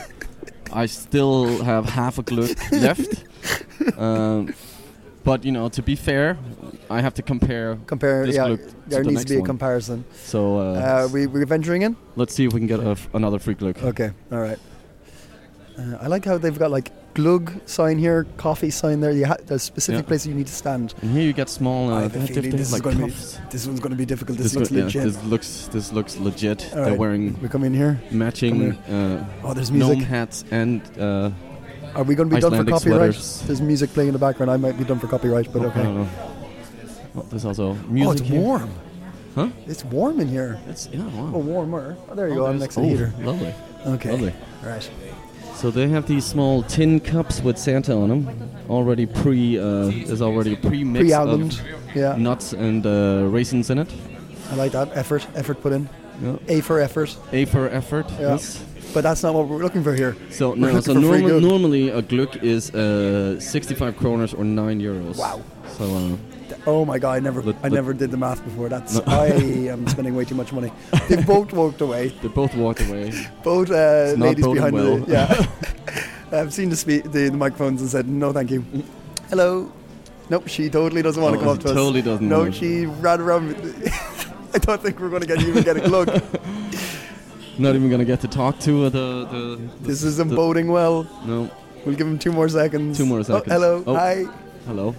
I still have half a Glück left. Um, but you know, to be fair, I have to compare. Compare. this Yeah. Glück There to the needs next to be a one. comparison. So uh, Uh, we we're venturing in. let's see if we can get a f- another free Glück. Okay. All right. Uh, I like how they've got like glug sign here, coffee sign there. You ha- there's specific Yeah. places you need to stand. And here you get small. I Uh, have a they have feeling diff- this is like going to be cuffs. this one's going to be difficult. This, This, looks loo- yeah, legit. this looks this looks legit. All They're right. wearing We come in here. matching uh, Oh, there's music. gnome hats and. Uh, Are we going to be done for Icelandic copyright? sweaters. There's music playing in the background. I might be done for copyright, but I okay. don't know. Oh, there's also music. Oh, it's here. warm. Huh? It's warm in here. It's yeah. Wow. Oh, warmer. Oh, there you Oh, go. I'm there's- next to the oh, heater. Lovely. Okay. Lovely. Right. So they have these small tin cups with Santa on them, already pre. Uh, there's already a pre-mix Pre-albumed. of Yeah. nuts and uh, raisins in it. I like that. Effort. Effort put in. Yeah. A for effort. A for effort. Yeah. Yes. But that's not what we're looking for here. So We're no. looking So for free normal, good. normally a Glück is uh, sixty-five kroners or nine euros. Wow. So uh, Oh my god! I never, Let- I let- never did the math before. That's No. I am spending way too much money. They both walked away. they both walked away. Both uh, It's not ladies boding behind well. the yeah. I've seen the, spe- the the microphones and said no, thank you. Hello. Nope, she totally doesn't want to Oh, come up she to us. totally doesn't No, want it. she ran around. I don't think we're going to get even get a glug. Not even gonna get to talk to uh, the, the, the. This isn't the- boding well. No. We'll give him two more seconds. Two more Oh, seconds. hello. Oh. Hi. Hello.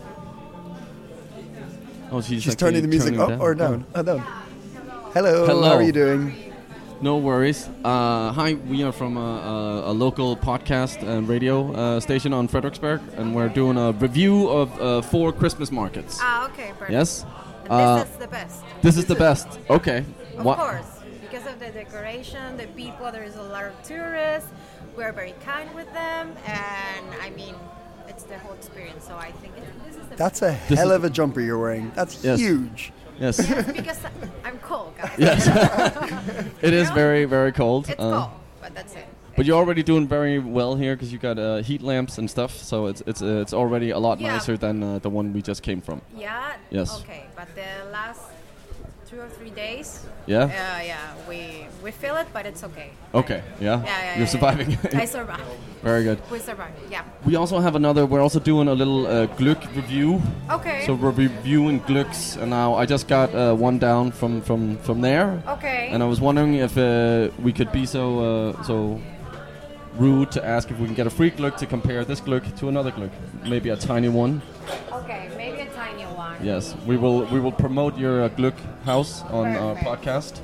Oh, she's, She's actually turning the music turning up it or down. Oh, down. Hello. Hello. How are you doing? No worries. Uh, hi, we are from a, a, a local podcast and radio uh, station on Frederiksberg, and we're doing a review of uh, four Christmas markets. Ah, okay, perfect. Yes? And Uh, this is the best. This is the best. Okay. Of What? course, because of the decoration, the people, there is a lot of tourists. We're very kind with them, and I mean, it's the whole experience. So I think it, this is the That's a This hell is- of a jumper you're wearing. That's Yes. huge. Yes. best because I'm cold, guys. Yes. It is know? very, very cold. It's Uh, cold, but that's it. But you're already doing very well here because you got uh, heat lamps and stuff. So it's it's uh, it's already a lot Yeah. nicer than uh, the one we just came from. Yeah. Yes. Okay, but the last two or three days. Yeah? Uh, yeah, we we feel it, but it's okay. Okay. Yeah. Yeah, yeah. You're yeah, surviving. Yeah. I survive. Very good. We survive. Yeah. We also have another. We're also doing a little uh, Glück review. Okay. So we're reviewing Glücks, and now I just got uh, one down from from from there. Okay. And I was wondering if uh, we could be so uh, so rude to ask if we can get a free Glück to compare this Glück to another Glück, maybe a tiny one. Okay, maybe a tiny one. Yes, we will we will promote your uh, Glück house on our Perfect. podcast.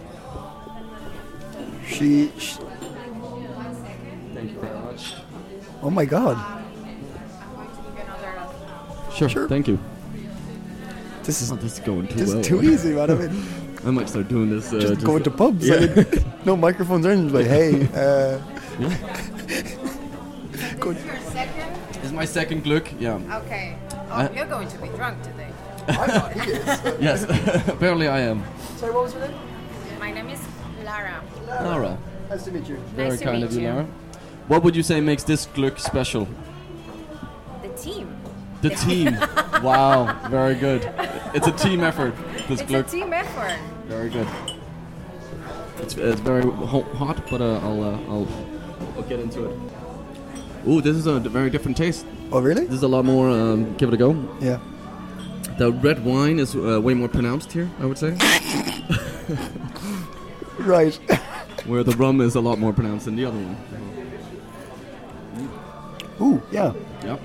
She, she. Thank you very much. Oh my God. Sure, Sure. thank you. This is Oh, this is going too this well. is too easy, man. I mean, I might start doing this. Uh, just going to pubs. Yeah. I mean, no microphones or anything. Like, hey, uh, good. Your second? This is my second Glück. Yeah. Okay. Oh, I- you're going to be drunk today. Yes. Apparently I am. Sorry, what was your name? My name is Lara. Laura. Nice to meet you. Very Nice to kind meet of you, you. Laura. What would you say makes this Glück special? The team. The team. Wow, very good. It's a team effort. This It's Glück. a team effort. Very good. It's, it's very ho- hot, but uh, I'll, uh, I'll I'll get into it. Ooh, this is a d- very different taste. Oh, really? This is a lot more. Um, give it a go. Yeah. The red wine is uh, way more pronounced here, I would say. Right. Where the rum is a lot more pronounced than the other one. Ooh, yeah. Yep.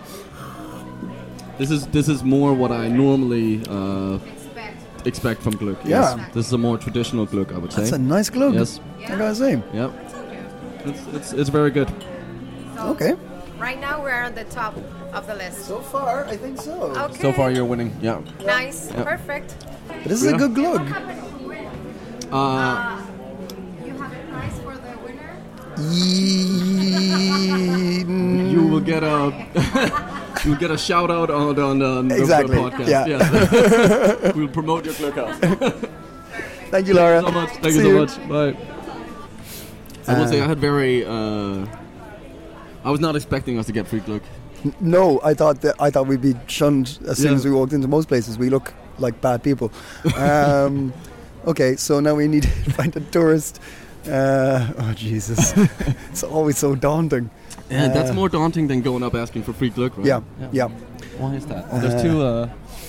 This is this is more what I normally uh, Expect. expect from Glück. Yeah. Yes. This is a more traditional Glück, I would say. That's a nice glove. Yes. I gotta say. Yep. It's, it's it's very good. So Okay. Right now we're on the top of the list. So far, I think so. Okay. So far, you're winning. Yeah. Nice. Yeah. Perfect. But this is Yeah. a good What glove. happened if you win? Uh, Uh, you have a prize for the winner? you will get a you will get a shout out on on, on the Exactly, podcast. yeah. Yes. We'll promote your Glück house. Thank you, Laura. so much. Thank See you so you. much. Bye. I will say I had very. Uh, I was not expecting us to get free Glück. No, I thought that I thought we'd be shunned as soon Yeah. as we walked into most places. We look like bad people. Um, okay, so now we need to find a tourist. Uh, oh Jesus, it's always so daunting. Yeah, that's Uh, more daunting than going up asking for free Glück, right? Yeah, yeah. Why is that? There's two. Uh,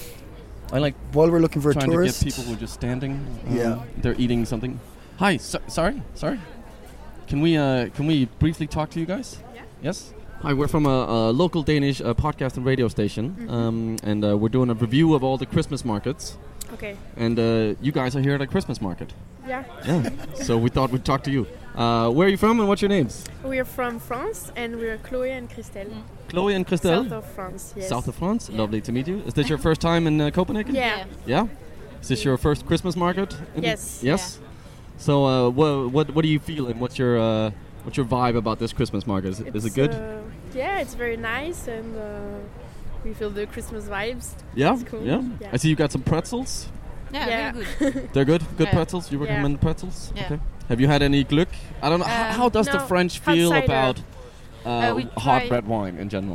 I like While we're looking for a trying tourist, to get people who are just standing. Um, Yeah. They're eating something. Hi. So, sorry. Sorry. Can we uh, can we briefly talk to you guys? Yeah. Yes. Hi, we're from a, a local Danish uh, podcast and radio station, Mm-hmm. um, and uh, we're doing a review of all the Christmas markets. Okay. And uh, you guys are here at a Christmas market. Yeah. Yeah. So we thought we'd talk to you. Uh, where are you from, and what's your names? We're from France and we're Chloe and Christelle. Chloe and Christelle. South of France, yes. South of France. Lovely to meet you. Is this your first time in uh, Copenhagen? Yeah. Yeah. Is this your first Christmas market? in- Yes. Yes. So, uh, what what what do you feel, and what's your uh, what's your vibe about this Christmas market? Is it, is it It's, good? Uh, yeah, it's very nice and uh, we feel the Christmas vibes. yeah. it's cool. Yeah. Yeah. I see you got some pretzels. Yeah, Yeah. very good. They're good. Good Yeah. pretzels. You Yeah. recommend the pretzels? Yeah. Okay. Have you had any Glück? I don't know. H- Um, how does the no, French hot feel cider. about uh, Uh, we hot try- red wine in general?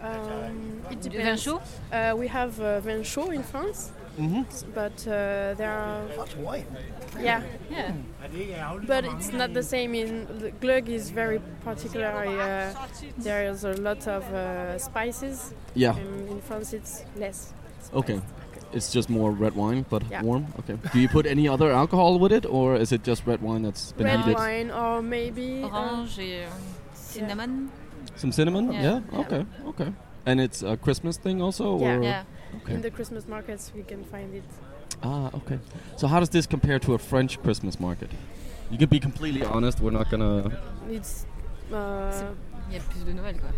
Um, it Du vin depends. chaud? Uh, we have uh, vin chaud in France, Mm-hmm. but uh, there are hot wine. yeah, Yeah. but it's not the same. In the Glögg is very particular. Uh, there's a lot of uh, spices. Yeah. And in France, it's less. Okay. It's just more red wine, but Yeah. warm. Okay. Do you put any other alcohol with it, or is it just red wine that's been Red heated? wine or maybe uh, Orange et euh, cinnamon. Some cinnamon? Yeah. Yeah. Yeah. Okay. Okay. And it's a Christmas thing also, Yeah. or Yeah. okay. in the Christmas markets we can find it. Ah, okay. So how does this compare to a French Christmas market? You can be completely honest. We're not gonna. It's uh, Il y a plus de Noël, quoi.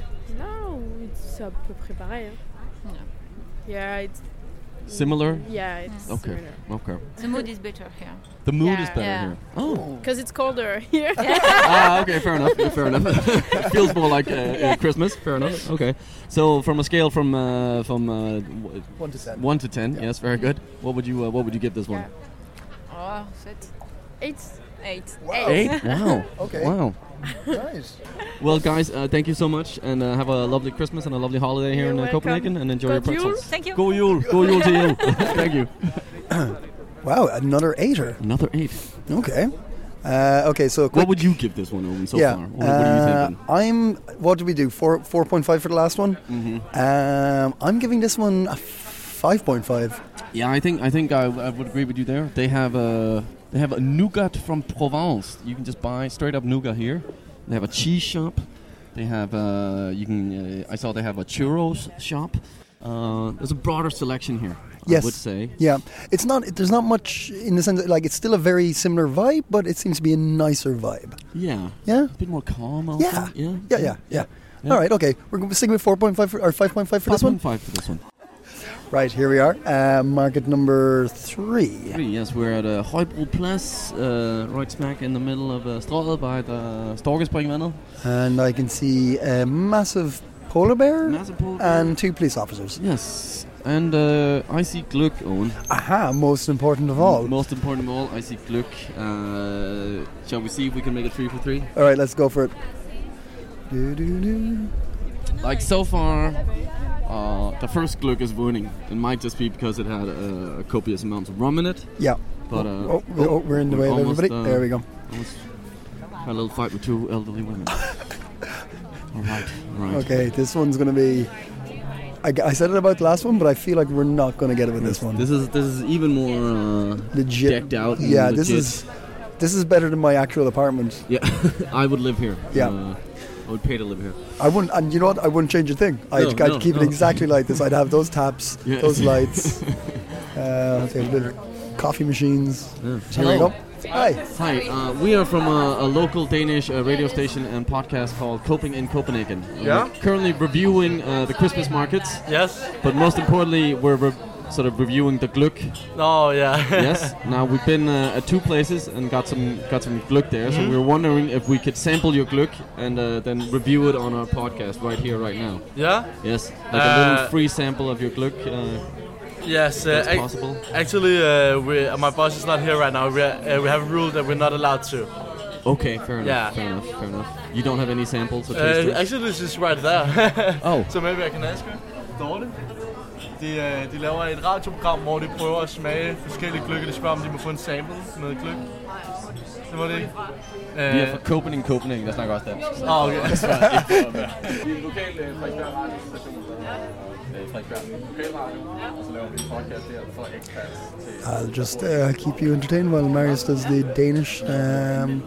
no, it's à peu près pareil. Hein. Yeah, it's Similar? Yeah, it's Okay. similar. Okay. The mood is better here. The mood Yeah. is better Yeah. here. Oh. Because it's colder here. ah, okay. Fair enough. Fair enough. It feels more like uh, uh, Christmas. Fair enough. Okay. So from a scale from uh, from uh, w- One to ten. one to ten, Yeah. yes, very good. What would you uh, What would you give this one? Yeah. Oh, sept. Eight. Eight. Wow. Eight. Wow. Okay. Wow. Nice. Well, guys, uh, thank you so much, and uh, have a lovely Christmas and a lovely holiday here You're in uh, welcome. Copenhagen, and enjoy your God Jul. pretzels. Thank you. Go Yule, go Yule to you. Thank you. Wow, another eighter. Another eight. Okay. Uh, okay, so quick, What would you give this one, Owen, so yeah. far? What, what are you uh, thinking? I'm. What did we do? Four four point five for the last one. Mm-hmm. Um, I'm giving this one a five point five. Yeah, I think I think I, I would agree with you there. They have a they have a nougat from Provence. You can just buy straight up nougat here. They have a cheese shop. They have uh, you can. Uh, I saw they have a churros shop. Uh, there's a broader selection here. Yes. I would say. Yeah, it's not. There's not much in the sense that, like, it's still a very similar vibe, but it seems to be a nicer vibe. Yeah. Yeah. A bit more calm. Also. Yeah. Yeah. Yeah, yeah, yeah. Yeah. All right, okay. We're going to stick with four point five for, or five point five for this one. five for this one. Right, here we are. Uh, market number three. Three, yes, we're at uh, Højbro Plads, uh, right smack in the middle of uh, Strøget by the Storkespringvandet. And I can see a massive polar bear, Massive polar bear. and two police officers. Yes, and uh, I see Glück, Owen. Aha, most important of all. Most important of all, I see Glück. Uh, shall we see if we can make it three for three? All right, let's go for it. Do-do-do. Like so far, uh, the first Glück is winning. It might just be because it had uh, a copious amount of rum in it. Yeah. But uh, oh, oh, oh, we're in the way of almost, everybody. uh, There we go. Almost had a little fight with two elderly women. all right, all right. Okay, this one's going to be... I, g- I said it about the last one, but I feel like we're not going to get it with this one. This is this is even more uh, Legit. decked out. and Yeah, this legit. is this is better than my actual apartment. Yeah, I would live here. Yeah. Uh, I would pay to live here. I wouldn't, and you know what? I wouldn't change a thing. I'd, No, I'd no, keep no. it exactly like this. I'd have those taps, Yeah. those lights, uh, okay, a bit of coffee machines. Yeah. Here we go. Hi. Hi, uh, we are from a, a local Danish uh, radio station and podcast called Coping in Copenhagen. Uh, Yeah. We're currently reviewing uh, the Christmas markets. Yes. But most importantly, we're re- sort of reviewing the Glück. Oh yeah. Yes. Now we've been uh, at two places and got some got some Glück there. So Mhm. we were wondering if we could sample your Glück and uh, then review it on our podcast right here, right now. Yeah. Yes. Like a little Uh, free sample of your Glück. Uh, Yes, uh, That's ac- possible. Actually, uh, we, uh, my boss is not here right now. We, uh, we have a rule that we're not allowed to. okay, fair enough. Yeah. Fair enough. Fair enough. You don't have any samples or Uh, tasters? actually, this is right there. Oh. So maybe I can ask you. Dorte. De, uh, de laver et radioprogram, hvor de prøver at smage forskellige gløgge. De spørger, om de må få en sample med gløgg. Det var det ikke? Vi er fra Copenhagen, Copenhagen, der snakker også dansk. Ah, okay. Vi er en lokal Frederiksberg radiostation, Frederiksberg Lokalradio, og så laver vi en podcast der for expats til... I'll just uh, keep you entertained while Marius does the Danish um,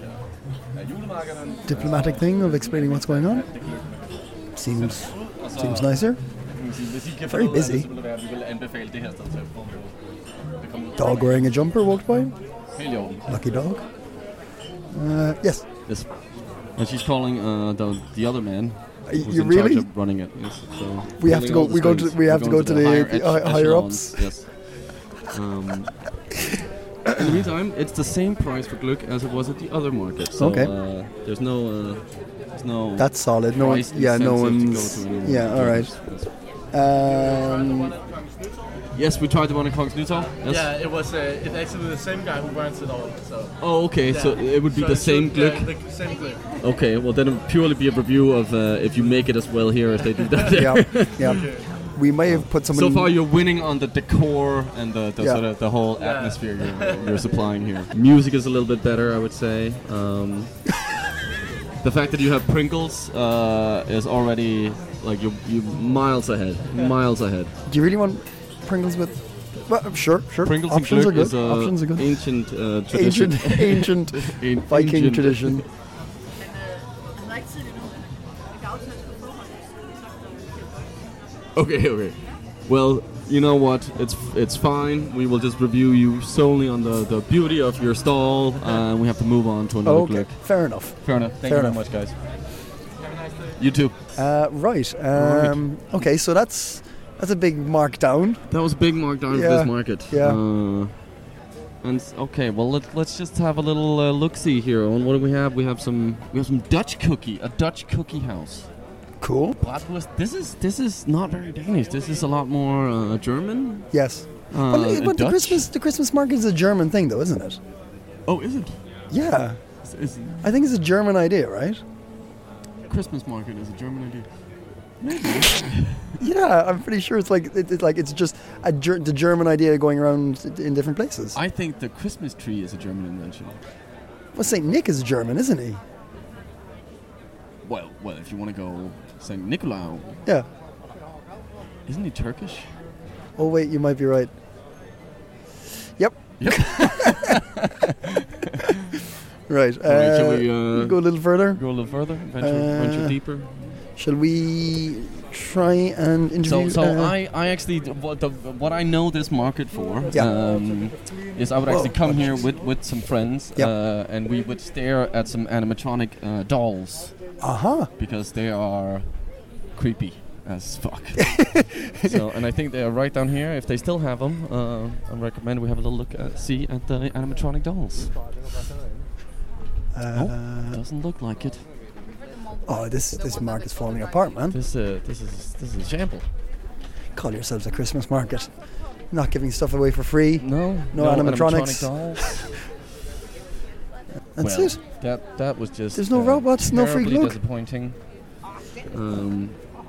diplomatic thing of explaining what's going on. Seems seems nicer. Very busy. Dog wearing a jumper walked by. Lucky dog. Uh, yes. Yes. And she's calling uh, the the other man. Y- who's you in charge really? of running it. Yes, so We have to pulling go- all the we go to- strings. we have We're to going go to the- higher the ech- hi- higher echelons, ups. Yes. Um, in the meantime, it's the same price for Glück as it was at the other market. So Okay. uh, there's no uh, there's no. That's solid. No one, price yeah, no incentive to go one's. to any Yeah, all right. dealers. Um, Yes, we tried the one in Kongens Nytorv. Yes. Yeah, it was uh, it's actually the same guy who runs it all. So. Oh, okay. Yeah. So it would be So the it same should- Glück. Yeah, the same gløgg. Okay, well then it would purely be a review of uh, if you make it as well here as they do down there. yeah, yeah. We may have put some. So far, you're winning on the decor and the, the Yeah. sort of the whole Yeah. atmosphere you're, you're supplying here. Music is a little bit better, I would say. Um, the fact that you have Pringles uh, is already like you you miles ahead, miles ahead. Do you really want Pringles with? Well, sure, sure. Pringles Options are and Glück good. is a Options are good. ancient uh, tradition. Ancient, ancient An- Viking ancient- tradition. Okay, okay. Well, you know what? It's it's fine. We will just review you solely on the, the beauty of your stall, uh, and we have to move on to another Okay, Glück. fair enough. Fair enough. Thank Fair you enough. very much, guys. You too. Uh, right. Um, okay, so that's that's a big markdown. That was a big markdown Yeah, of this market. yeah. Uh, and s- okay, well let, let's just have a little uh, look see here. On what do we have? We have some we have some Dutch cookie, a Dutch cookie house. Cool. Bratwurst. This is this is not very Danish. This is a lot more uh, German. Yes. Uh, but and but the Dutch? Christmas the Christmas market is a German thing, though, isn't it? Oh, is it? Yeah. It's, it's I think it's a German idea, right? Christmas market is a German idea. Maybe. Yeah, I'm pretty sure it's like it, it's like it's just a ger- the German idea going around in different places. I think the Christmas tree is a German invention. Well, Saint Nick is German, isn't he? Well, well, if you want to go Saint Nicolau, Yeah. isn't he Turkish? Oh wait, you might be right. Yep. Yep. Right. All right, shall uh, we uh, go a little further? Go a little further, venture, Uh, venture deeper. Shall we try and interview? So, so uh, I, I actually, what, the, what I know this market for Yeah. um, is I would actually Whoa. come here with, with some friends, Yeah. uh, and we would stare at some animatronic uh, dolls. Aha. Because they are creepy as fuck. So, and I think they are right down here. If they still have them, uh, I recommend we have a little look at, see at the animatronic dolls. Uh, oh, doesn't look like it. Oh, this this market's falling apart, man. This uh, this is this is a shamble. Call yourselves a Christmas market. Not giving stuff away for free. No, No, no animatronics. animatronic dolls. That's well, it. That that was just. There's no uh, robots, no free terribly glue. disappointing. Um,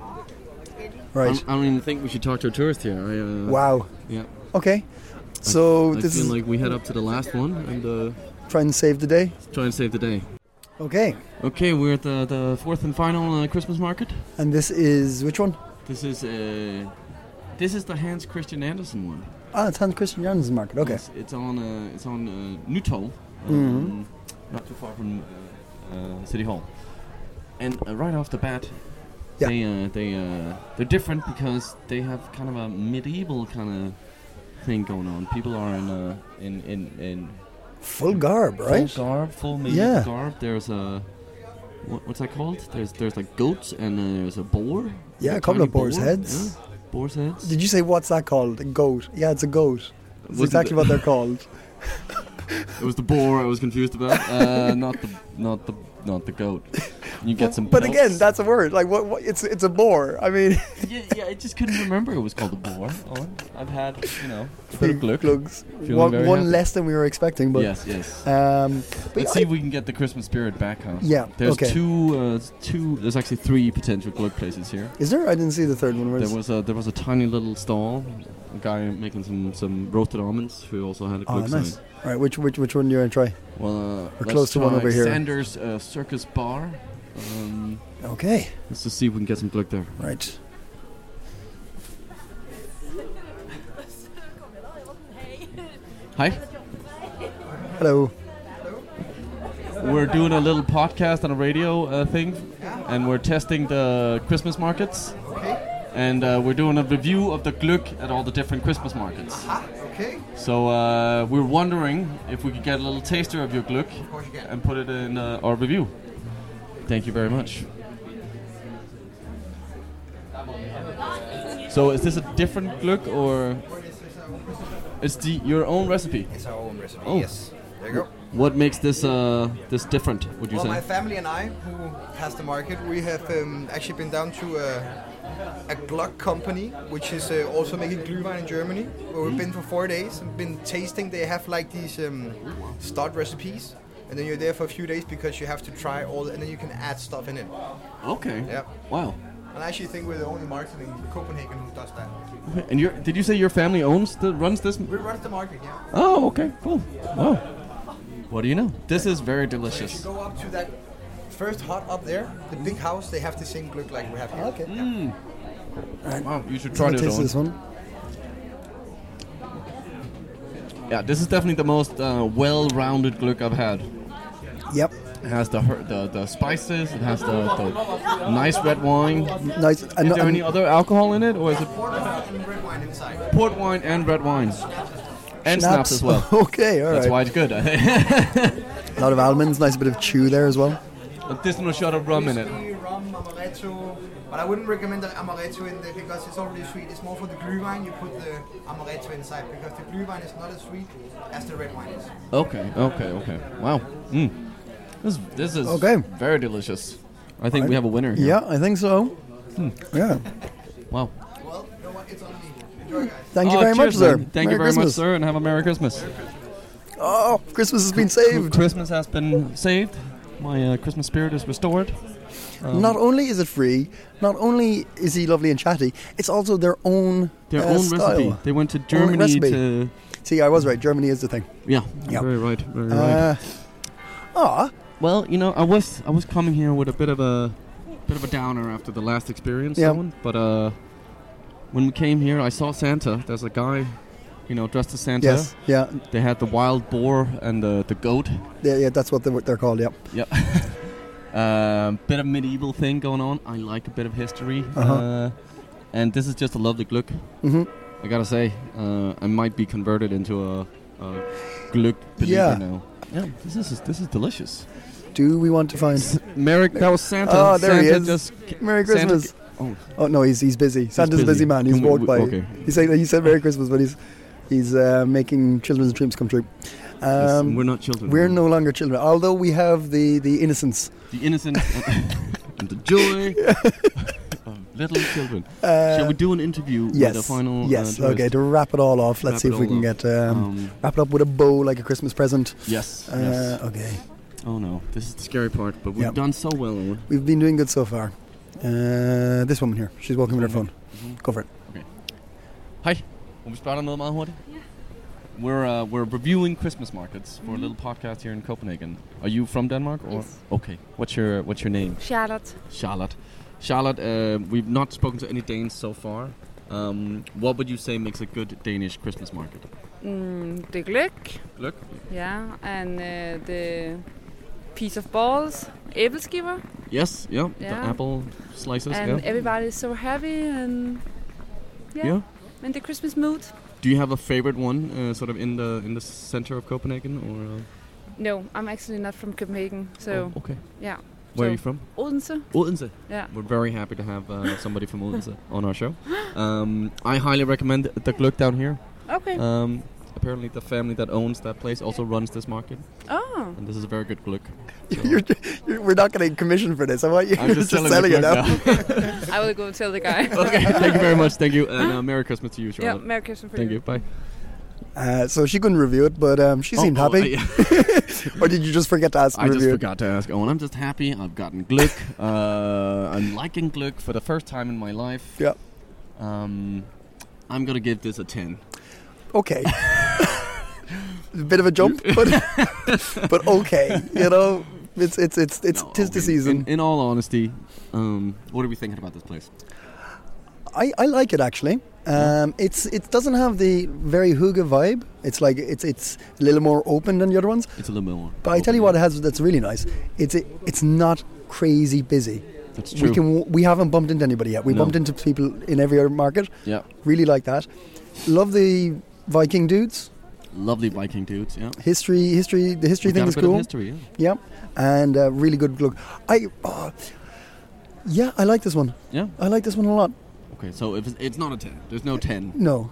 Right. I don't even think we should talk to a tourist here. I, uh, Wow. Yeah. Okay. So I this feel is like we head up to the last one and uh, try and save the day. try and save the day. Okay. Okay, we're at the, the fourth and final uh, Christmas market. And this is which one? This is uh, this is the Hans Christian Andersen one. Ah, it's Hans Christian Jansen's market. Okay. It's, it's on uh, it's on uh, Nytorv, um, Mhm. not too far from uh, City Hall. And uh, right off the bat, Yeah. they uh, they uh, they're different because they have kind of a medieval kind of thing going on. People are in uh, in in in Full garb, right? full garb, full medieval Yeah. garb. There's a what, what's that called? There's there's like goats and uh, there's a boar. Yeah, a couple tiny of boar's boar, heads. yeah, boar's heads. Did you say what's that called? A goat. Yeah, it's a goat. It's Wasn't exactly it- what they're called. It was the boar I was confused about, uh, not the not the not the goat. You get some. But pelts. again, that's a word. Like what? what it's it's a boar. I mean, yeah, yeah, I just couldn't remember it was called a boar. Oh, I've had, you know, a bit of glug. Glugs. Feeling One, very one happy. less than we were expecting. But Yes, yes. Um, but Let's I- see if we can get the Christmas spirit back, huh? Yeah, There's okay. two, uh, two. There's actually three potential glug places here. Is there? I didn't see the third one. Where's There was a there was a tiny little stall, a guy making some, some roasted almonds who also had a Oh, glug nice. sign. All right, which which which one do you want to try? Well, uh, We're let's close to one try over here. Sanders uh, Circus Bar. Um, Okay. Let's just see if we can get some glug there. Right. Hi. Hello. We're doing a little podcast on a radio uh, thing, and we're testing the Christmas markets. Okay. And uh, we're doing a review of the glug at all the different Christmas markets. Ah, okay. So uh, we're wondering if we could get a little taster of your glug course you can. and put it in uh, our review. Thank you very much. So is this a different glug or it's the your own recipe? It's our own recipe. Oh. Yes. There you go. What makes this uh, this different? Would you Well, say? my family and I, who has the market, we have um, actually been down to a, a Glögg company, which is uh, also making Glühwein in Germany, where we've been for four days and been tasting. They have like these um, start recipes, and then you're there for a few days because you have to try all, and then you can add stuff in it. Okay. Yeah. Wow. And I actually think we're the only market in Copenhagen who does that. And your did you say your family owns the runs this? We run the market, yeah. Oh, okay, cool. Wow. What do you know? This is very delicious. If you go up to that first hut up there, the big house, they have the same glögg like we have here. Okay. Mm. Right. Wow, you should So try let's this taste this one. Yeah, this is definitely the most uh, well-rounded glögg I've had. Yep. It has the her- the, the spices. It has the, the nice red wine. Nice. Is And, there and any other alcohol in it, or is it And red wine inside. port wine and red wine? And snaps, as well. Okay, all right. That's why it's good, I think. A lot of almonds, nice bit of chew there as well. But there's no shot of rum in it. Whiskey, rum, amaretto. But I wouldn't recommend the amaretto in there because it's already sweet. It's more for the Glühwein you put the amaretto inside because the Glühwein is not as sweet as the red wine is. Okay, okay, okay. Wow. Mm. This, this is Okay. very delicious. I think we have a winner here. Yeah, I think so. Hmm. Yeah. Wow. Well, you know what? It's on me. Enjoy, guys. Thank you Oh, very much, cheers, sir. man. Thank Merry you very Christmas. much, sir, and have a Merry Christmas. Oh, Christmas has been saved. Christmas has been saved. My uh, Christmas spirit is restored. Um, not only is it free, not only is he lovely and chatty, it's also their own their uh, own style. recipe. They went to Germany to. See, I was right. Germany is the thing. Yeah, yep. very right. Very uh, right. Ah. Well, you know, I was I was coming here with a bit of a bit of a downer after the last experience. Yeah. Someone, but uh, when we came here, I saw Santa. There's a guy, you know, dressed as Santa. Yes. Yeah. They had the wild boar and the the goat. Yeah, yeah, that's what they're, they're called. Yep. Yep. Um, bit of medieval thing going on. I like a bit of history, uh-huh. uh, and this is just a lovely glück. Mm-hmm. I gotta say, uh, I might be converted into a, a glück believer yeah. now. Yeah, this is this is delicious. Do we want to find S- Merry? That was Santa. Oh, there Santa he is. Just Merry Christmas. Santa oh. oh no, he's he's busy. Santa's busy. a busy man. He's Can we- walked by. okay. He said he said Merry Christmas, but he's he's uh, making children's dreams come true. Um, Yes, we're not children. We're no longer children, although we have the, the innocence. The innocence and the joy of little children. Uh, Shall we do an interview yes, with the final? Yes. Uh, okay. To wrap it all off, let's Wrap see it if we all can up. get um, Um, wrap it up with a bow like a Christmas present. Yes. Uh, yes. Okay. Oh no, this is the scary part, but we've Yep. done so well, Owen. We've been doing good so far. Uh, this woman here, she's walking with her phone. Mm-hmm. Go for it. Okay. Hej. Må vi spørge dig noget meget hurtigt? We're uh, we're reviewing Christmas markets for a little podcast here in Copenhagen. Are you from Denmark or? Yes. Okay. What's your What's your name? Charlotte. Charlotte. Charlotte. Uh, we've not spoken to any Danes so far. Um, what would you say makes a good Danish Christmas market? Mm, the gløgg. Gløgg. Yeah, and uh, the piece of balls, æbleskiver. Yes. Yeah. Yeah. The apple slices. And yeah. everybody's so happy and yeah, Yeah. in the Christmas mood. Do you have a favorite one, uh, sort of in the in the center of Copenhagen, or? Uh? No, I'm actually not from Copenhagen, so Oh, okay. yeah. Where so are you from? Odense. Odense. Yeah. We're very happy to have uh, somebody from Odense on our show. Um, I highly recommend the gløgg down here. Okay. Um, apparently, the family that owns that place also runs this market. Oh. And this is a very good gløgg. So You're, you're, we're not getting commission for this. I want you. I'm You're just just selling selling the it now. gløgg I will go tell the guy. Okay, thank you very much. Thank you, and uh, Merry Christmas to you, Yeah, Charlotte. Merry Christmas for Thank you. you. Bye. Uh, so she couldn't review it, but um, she Oh, seemed oh, happy. uh, Or did you just forget to ask? I to just review it? forgot to ask Owen. I'm just happy. I've gotten gløgg. Uh, I'm liking gløgg for the first time in my life. Yeah. Um, I'm gonna give this a ten. Okay. A bit of a jump, but but okay. You know, it's it's it's it's No, tis the in- season. In, in all honesty, um, what are we thinking about this place? I, I like it actually. Um, it's it doesn't have the very hygge vibe. It's like it's it's a little more open than the other ones. It's a little bit more. But I tell you what, it has that's really nice. It's it, it's not crazy busy. That's true. We can we haven't bumped into anybody yet. We No. bumped into people in every other market. Yeah. Really like that. Love the Viking dudes. Lovely Viking dudes, yeah. History, history. The history We thing got a is bit of cool. history, yeah. Yeah, and uh, really good look. I, uh, yeah, I like this one. Yeah? I like this one a lot. Okay, so if it's, it's not a ten. There's no ten. No.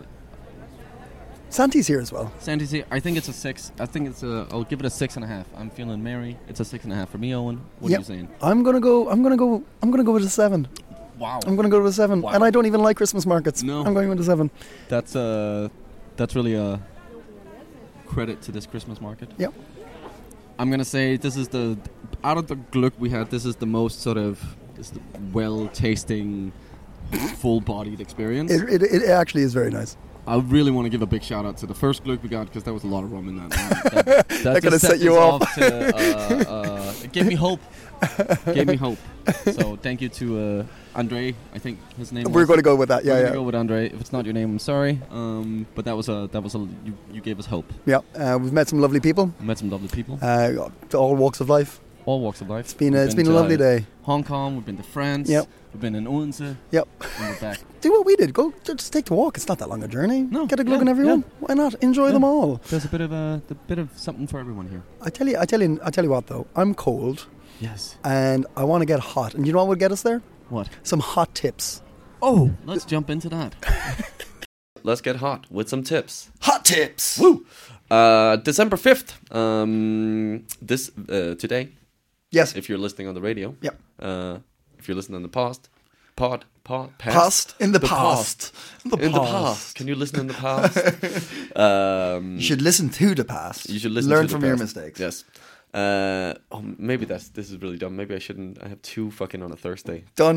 Santi's here as well. Sandy's here. I think it's a six. I think it's a. I'll give it a six and a half. I'm feeling merry. It's a six and a half for me, Owen. What Yep. are you saying? I'm gonna go. I'm gonna go. I'm gonna go with a seven. Wow. I'm gonna go with a seven. Wow. And I don't even like Christmas markets. No. I'm going with a seven. That's uh, that's really a credit to this Christmas market. Yep. I'm gonna say this is the out of the gløgg we had. This is the most sort of this is the well-tasting, full-bodied experience. It, it, it actually is very nice. I really want to give a big shout out to the first gløgg we got because there was a lot of rum in that. that that That could have just set you us off. to, uh, uh, it gave me hope. gave me hope. So thank you to uh, Andre. I think his name. We're was. going to go with that. We're Yeah, gonna yeah. go with Andre. If it's not your name, I'm sorry. Um, but that was a that was a you, you gave us hope. Yeah, uh, we've met some lovely people. We met some lovely people. Uh, to all walks of life. All walks of life. It's been a, We've it's been a to, lovely uh, day. Hong Kong. We've been to France. Yep. We've been in Odense. Yep. And we're back. Do what we did. Go just take the walk. It's not that long a journey. No, Get a glug yeah, on everyone. yeah. Why not? Enjoy Yeah. them all. There's a bit of a, a bit of something for everyone here. I tell you, I tell you, I tell you what though. I'm cold. Yes. And I want to get hot. And you know what would get us there? What? Some hot tips. Oh, let's jump into that. Let's get hot with some tips. Hot tips. Woo! Uh, December fifth. Um, this uh, today. Yes. If you're listening on the radio. Yep. Uh, if you're listening in the past. pod, pod, past, Past in the, past. In the, in the past. Can you listen in the past? um, You should listen to the past. You should listen. Learn to from the your past. mistakes. Yes. Uh, oh, maybe that's this is really dumb. Maybe I shouldn't. I have two fucking on a Thursday. Done.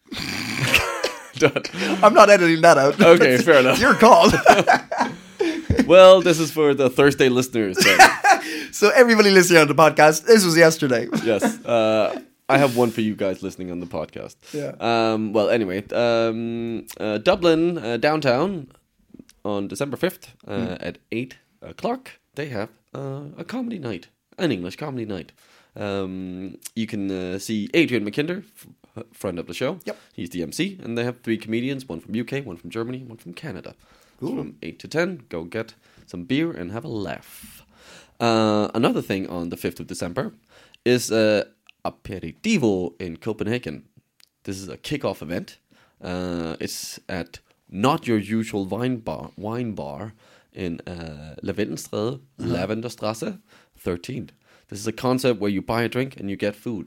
Done. I'm not editing that out. Okay, fair enough. It's your call. Well, this is for the Thursday listeners. Then. So everybody listening on the podcast, this was yesterday. Yes. Uh, I have one for you guys listening on the podcast. Yeah. Um, well, anyway, um, uh, Dublin uh, downtown on December fifth uh, mm. at eight o'clock, they have uh, a comedy night, an English comedy night. Um, you can uh, see Adrian McKinder, f- friend of the show. Yep. He's the M C, and they have three comedians, one from U K, one from Germany, one from Canada. Ooh. From eight to ten, go get some beer and have a laugh. Uh, another thing on the fifth of December is uh, Aperitivo in Copenhagen. This is a kick-off event. Uh, it's at not your usual wine bar, wine bar in uh, Lavenderstræde, uh-huh. Lavenderstrasse thirteen. This is a concept where you buy a drink and you get food.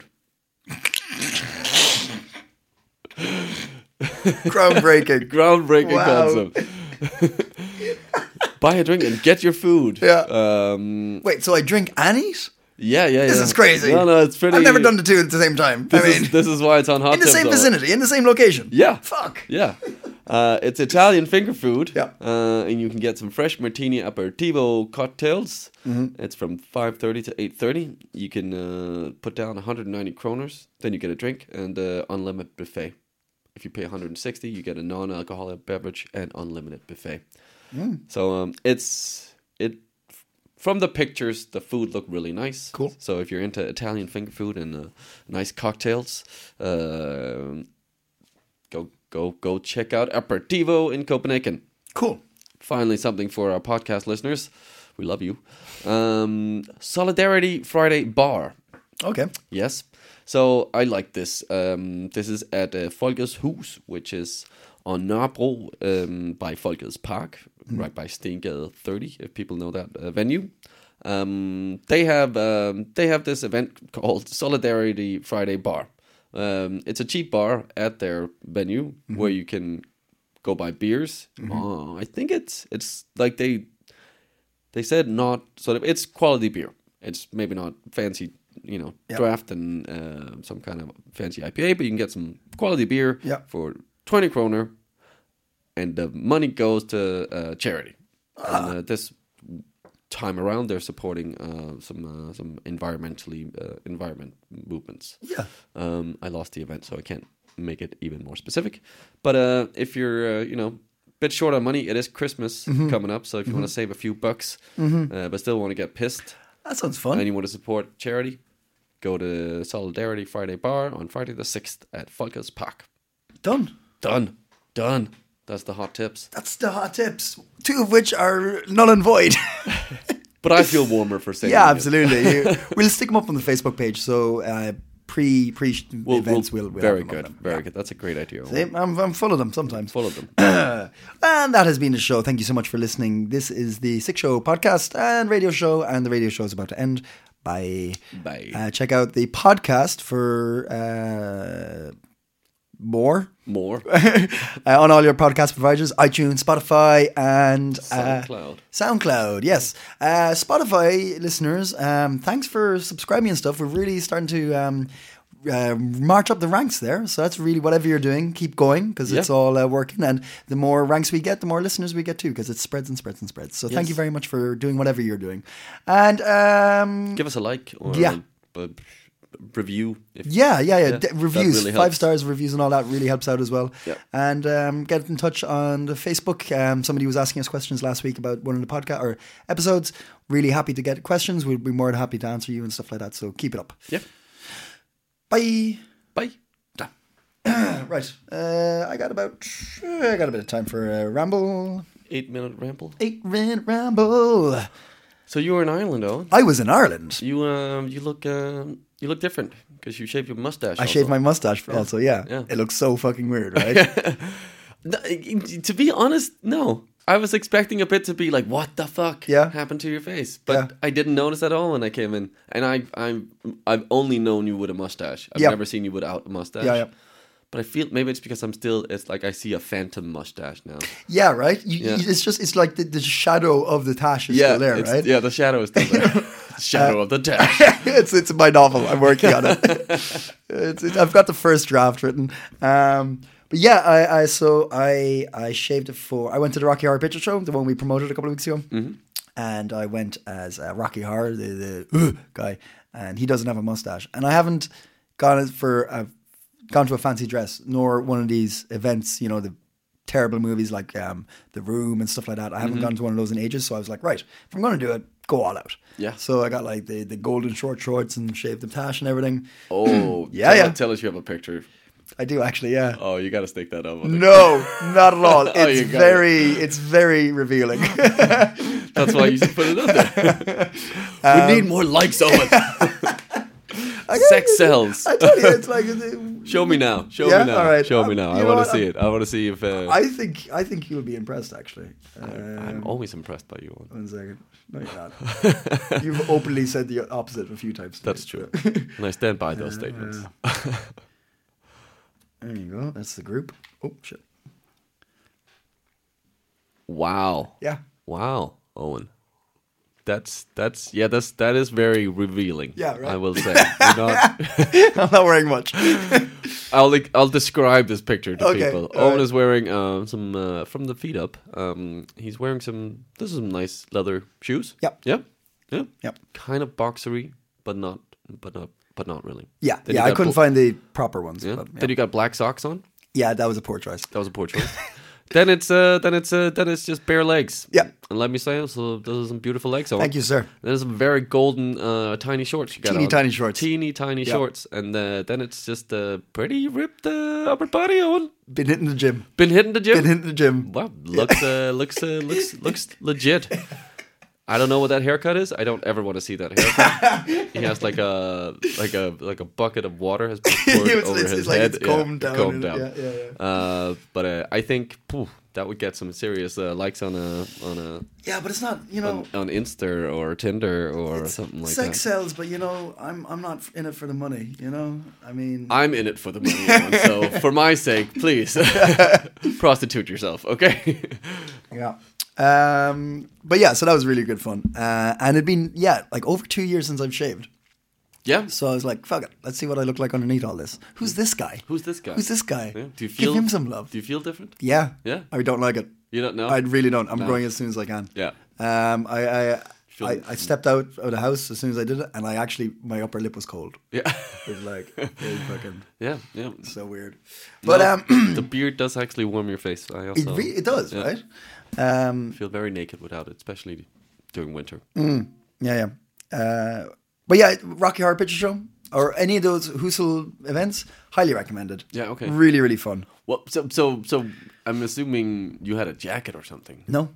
Groundbreaking. Groundbreaking Wow. concept. Buy a drink and get your food. Yeah. Um, Wait, so I drink and eat? Yeah, yeah, This yeah. is crazy. No, no, it's pretty. I've never done the two at the same time. This I mean, is this is why it's on Hot in the Tips same all- vicinity, in the same location. Yeah. Fuck. Yeah. Uh, it's Italian finger food. Yeah. Uh, and you can get some fresh martini aperitivo cocktails. Mhm. It's from five thirty to eight thirty. You can uh, put down one hundred ninety kroners. Then you get a drink and uh, unlimited buffet. If you pay one hundred sixty, you get a non-alcoholic beverage and unlimited buffet. Mm. So um, it's it. From the pictures, the food looked really nice. Cool. So if you're into Italian finger food and uh, nice cocktails, uh, go go go check out Aperitivo in Copenhagen. Cool. Finally, something for our podcast listeners. We love you. Um, Solidarity Friday Bar. Okay. Yes. So I like this. Um, this is at uh, Folkets Hus, which is on Nørrebro um, by Folkets Park, mm. right by Stengade thirty, if people know that uh, venue. Um, they have um, they have this event called Solidarity Friday Bar. Um, it's a cheap bar at their venue mm-hmm. where you can go buy beers. Mm-hmm. Uh, I think it's it's like they they said not sort of it's quality beer. It's maybe not fancy, you know, yep. draft and uh, some kind of fancy I P A, but you can get some quality beer yep. for twenty kroner, and the money goes to uh, charity. Ah. And uh, this time around, they're supporting uh, some uh, some environmentally uh, environment movements. Yeah. Um, I lost the event, so I can't make it even more specific. But uh, if you're, uh, you know, a bit short on money, it is Christmas mm-hmm. coming up, so if you mm-hmm. want to save a few bucks, mm-hmm. uh, but still want to get pissed, that sounds fun. And you want to support charity, go to Solidarity Friday Bar on Friday the sixth at Folkets Park. Done. Done. Done. That's the hot tips. That's the hot tips. Two of which are null and void. But I feel warmer for saying yeah, absolutely. You, we'll stick them up on the Facebook page. So uh, pre pre we'll, events, we'll, we'll, we'll very have them good, up very yeah. good. That's a great idea. See, I'm I'm full of them sometimes. Full of them. And that has been the show. Thank you so much for listening. This is the Sick Show podcast and radio show, and the radio show is about to end. Bye. Bye. Uh, check out the podcast for uh, more. More. uh, on all your podcast providers, iTunes, Spotify, and uh, SoundCloud. SoundCloud, yes. Uh, Spotify listeners, um, thanks for subscribing and stuff. We're really starting to um, uh, march up the ranks there. So that's really whatever you're doing, keep going because yeah. it's all uh, working. And the more ranks we get, the more listeners we get too because it spreads and spreads and spreads. So yes. thank you very much for doing whatever you're doing. And um, give us a like or yeah. a, a review. If, yeah, yeah, yeah. yeah D- reviews, really five stars, reviews, and all that really helps out as well. Yeah. And um, get in touch on the Facebook. Um, somebody was asking us questions last week about one of the podcast or episodes. Really happy to get questions. We'd be more than happy to answer you and stuff like that. So keep it up. Yeah. Bye. Bye. Right. Uh, I got about. I got a bit of time for a ramble. Eight minute ramble. Eight minute ramble. So you were in Ireland, though. I was in Ireland. You um, you look um, you look different because you shaved your mustache. I also. shaved my mustache yeah. also. Yeah. yeah, it looks so fucking weird, right? no, to be honest, no. I was expecting a bit to be like, "What the fuck yeah. happened to your face?" But yeah. I didn't notice at all when I came in. And I, I'm, I've only known you with a mustache. I've yep. never seen you without a mustache. Yeah, yeah. but I feel maybe it's because I'm still. It's like I see a phantom mustache now. Yeah, right. You, Yeah. you- it's just it's like the, the shadow of the tash is yeah, still there, it's- right? Yeah, the shadow is still there. Shadow Uh, of the tash. it's it's my novel. I'm working on it. it's, it. I've got the first draft written. Um, but yeah, I, I so I I shaved it for. I went to the Rocky Horror Picture Show, the one we promoted a couple of weeks ago, Mhm. and I went as uh, Rocky Horror, the, the uh, guy, and he doesn't have a mustache, and I haven't gone for a, gone to a fancy dress nor one of these events. You know, the terrible movies like um, The Room and stuff like that. I haven't Mhm. gone to one of those in ages, so I was like, right, if I'm going to do it, go all out. Yeah. So I got like the, the golden short shorts and shaved the tash and everything. Oh, yeah, tell, yeah. Tell us you have a picture. I do actually, yeah. Oh, you got to stick that up. I think. No, not at all. Oh, It's you got very, it's very revealing. That's why you should put it up there. Um, we need more likes on it. Sex sells. I tell you, it's like. Show me now. Show Yeah? me now. All right. Show Um, me now. you I know want what? to see it. I want to see if. Uh, I think I think you'll be impressed. Actually, I'm Um, always impressed by you. One second. No, you're not. You've openly said the opposite a few times. today, That's true, so. and I stand by those Uh, statements. There you go. That's the group. Oh shit. Wow. Yeah. Wow, Owen. That's that's yeah. That's that is very revealing. Yeah, right. I will say. You're not, I'm not wearing much. I'll like, I'll describe this picture to Okay, people. all Owen right. is wearing uh, some uh, from the feet up. Um, he's wearing some. This is some nice leather shoes. Yep. Yep. Yeah. Yep. Kind of boxery, but not, but not, but not really. Yeah, Then yeah. you I got couldn't bl- find the proper ones. Yeah. But, yeah. Then you got black socks on. Yeah, that was a poor choice. That was a poor choice. then it's uh, then it's uh, then it's just bare legs. Yeah. And let me say, so those are some beautiful legs on. Thank you, sir. There's some very golden, uh, tiny shorts you got Teeny on. tiny shorts. Teeny tiny Yeah. shorts, and uh, then it's just a pretty ripped uh, upper body on. Been hitting the gym. Been hitting the gym. Been hitting the gym. Wow, looks uh, looks uh, looks looks legit. I don't know what that haircut is. I don't ever want to see that haircut. He has like a like a like a bucket of water has been poured It's- over it's- his it's like head. it's combed down Combed and- down. yeah, yeah, Uh, but uh, I think phew, that would get some serious uh, likes on a on a Yeah, but it's not. You know, on, on Insta or Tinder or something like sex that. sells, but you know, I'm I'm not in it for the money. You know, I mean, I'm in it for the money, Owen, so for my sake, please prostitute yourself, okay? yeah. Um, but yeah, so that was really good fun. Uh, and it'd been yeah, like over two years since I've shaved. Yeah. So I was like, fuck it, let's see what I look like underneath all this. Who's this guy? Who's this guy? Who's this guy? Yeah. Do you feel? Give him some love. Do you feel different? Yeah. Yeah. I don't like it. You don't know? I really don't. I'm No. growing as soon as I can. Yeah. Um, I I, Feel- I I stepped out of the house as soon as I did it, and I actually my upper lip was cold. Yeah. It was like it was fucking Yeah, yeah. so weird. But No, um, the beard does actually warm your face. I it also re- it does, yeah. right? Um, I feel very naked without it, especially during winter. Mm, yeah, yeah. Uh, but yeah, Rocky Horror Picture Show or any of those Husel events, highly recommended. Yeah, okay. Really, really fun. Well, so so so I'm assuming you had a jacket or something. No.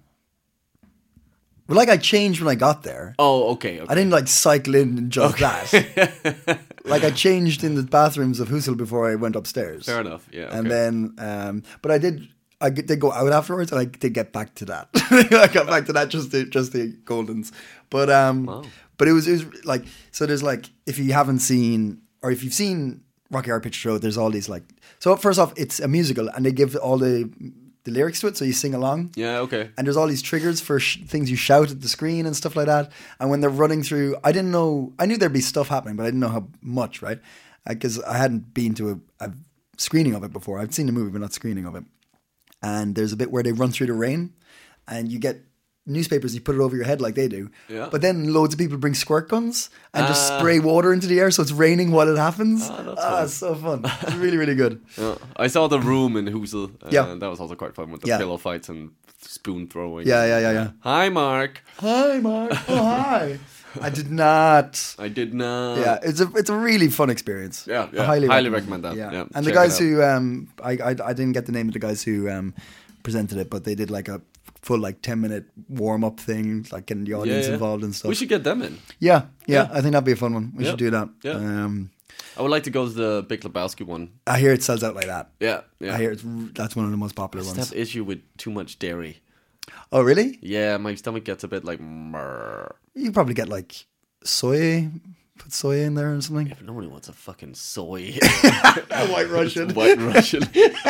Well, like I changed when I got there. Oh, okay. okay. I didn't like cycle in and just that. Like I changed in the bathrooms of Husel before I went upstairs. Fair enough. Yeah. And okay. then, um, but I did. I get- did go out afterwards, and I did get back to that. I got back to that just the just the Goldens, but um, Wow. but it was it was like so. There's like if you haven't seen or if you've seen Rocky Horror Picture Show, there's all these like so. First off, it's a musical, and they give all the the lyrics to it, so you sing along. Yeah. Okay. And there's all these triggers for sh- things you shout at the screen and stuff like that. And when they're running through, I didn't know, I knew there'd be stuff happening, but I didn't know how much, right? Because I hadn't been to a, a screening of it before. I've seen the movie, but not screening of it. And there's a bit where they run through the rain, and you get newspapers, you put it over your head like they do. Yeah. But then loads of people bring squirt guns and just Ah. spray water into the air, so it's raining while it happens. Ah, that's Ah, fun. it's so fun. It's really, really good. Yeah. I saw The Room in Husel. Uh, Yeah. That was also quite fun with the Yeah. pillow fights and spoon throwing. Yeah, yeah, yeah, yeah. Hi, Mark. Hi, Mark. Oh, hi. I did not. I did not. Yeah, it's a it's a really fun experience. Yeah, I yeah. highly, Highly recommend, recommend that. Yeah, Yeah, and the check it guys out. who um, I, I I didn't get the name of the guys who um presented it, but they did like a full like ten minute warm up thing, like getting the audience Yeah, yeah. involved and stuff. We should get them in. Yeah, yeah, Yeah. I think that'd be a fun one. We Yeah. should do that. Yeah. Um, I would like to go to the Big Lebowski one. I hear it sells out like that. Yeah, yeah. I hear it's r- that's one of the most popular I just ones. have issue with too much dairy. Oh, really? Yeah, my stomach gets a bit like. Murr. You probably get like soy Put soy in there or something. Yeah, but nobody wants a fucking soy. A white Russian. White Russian.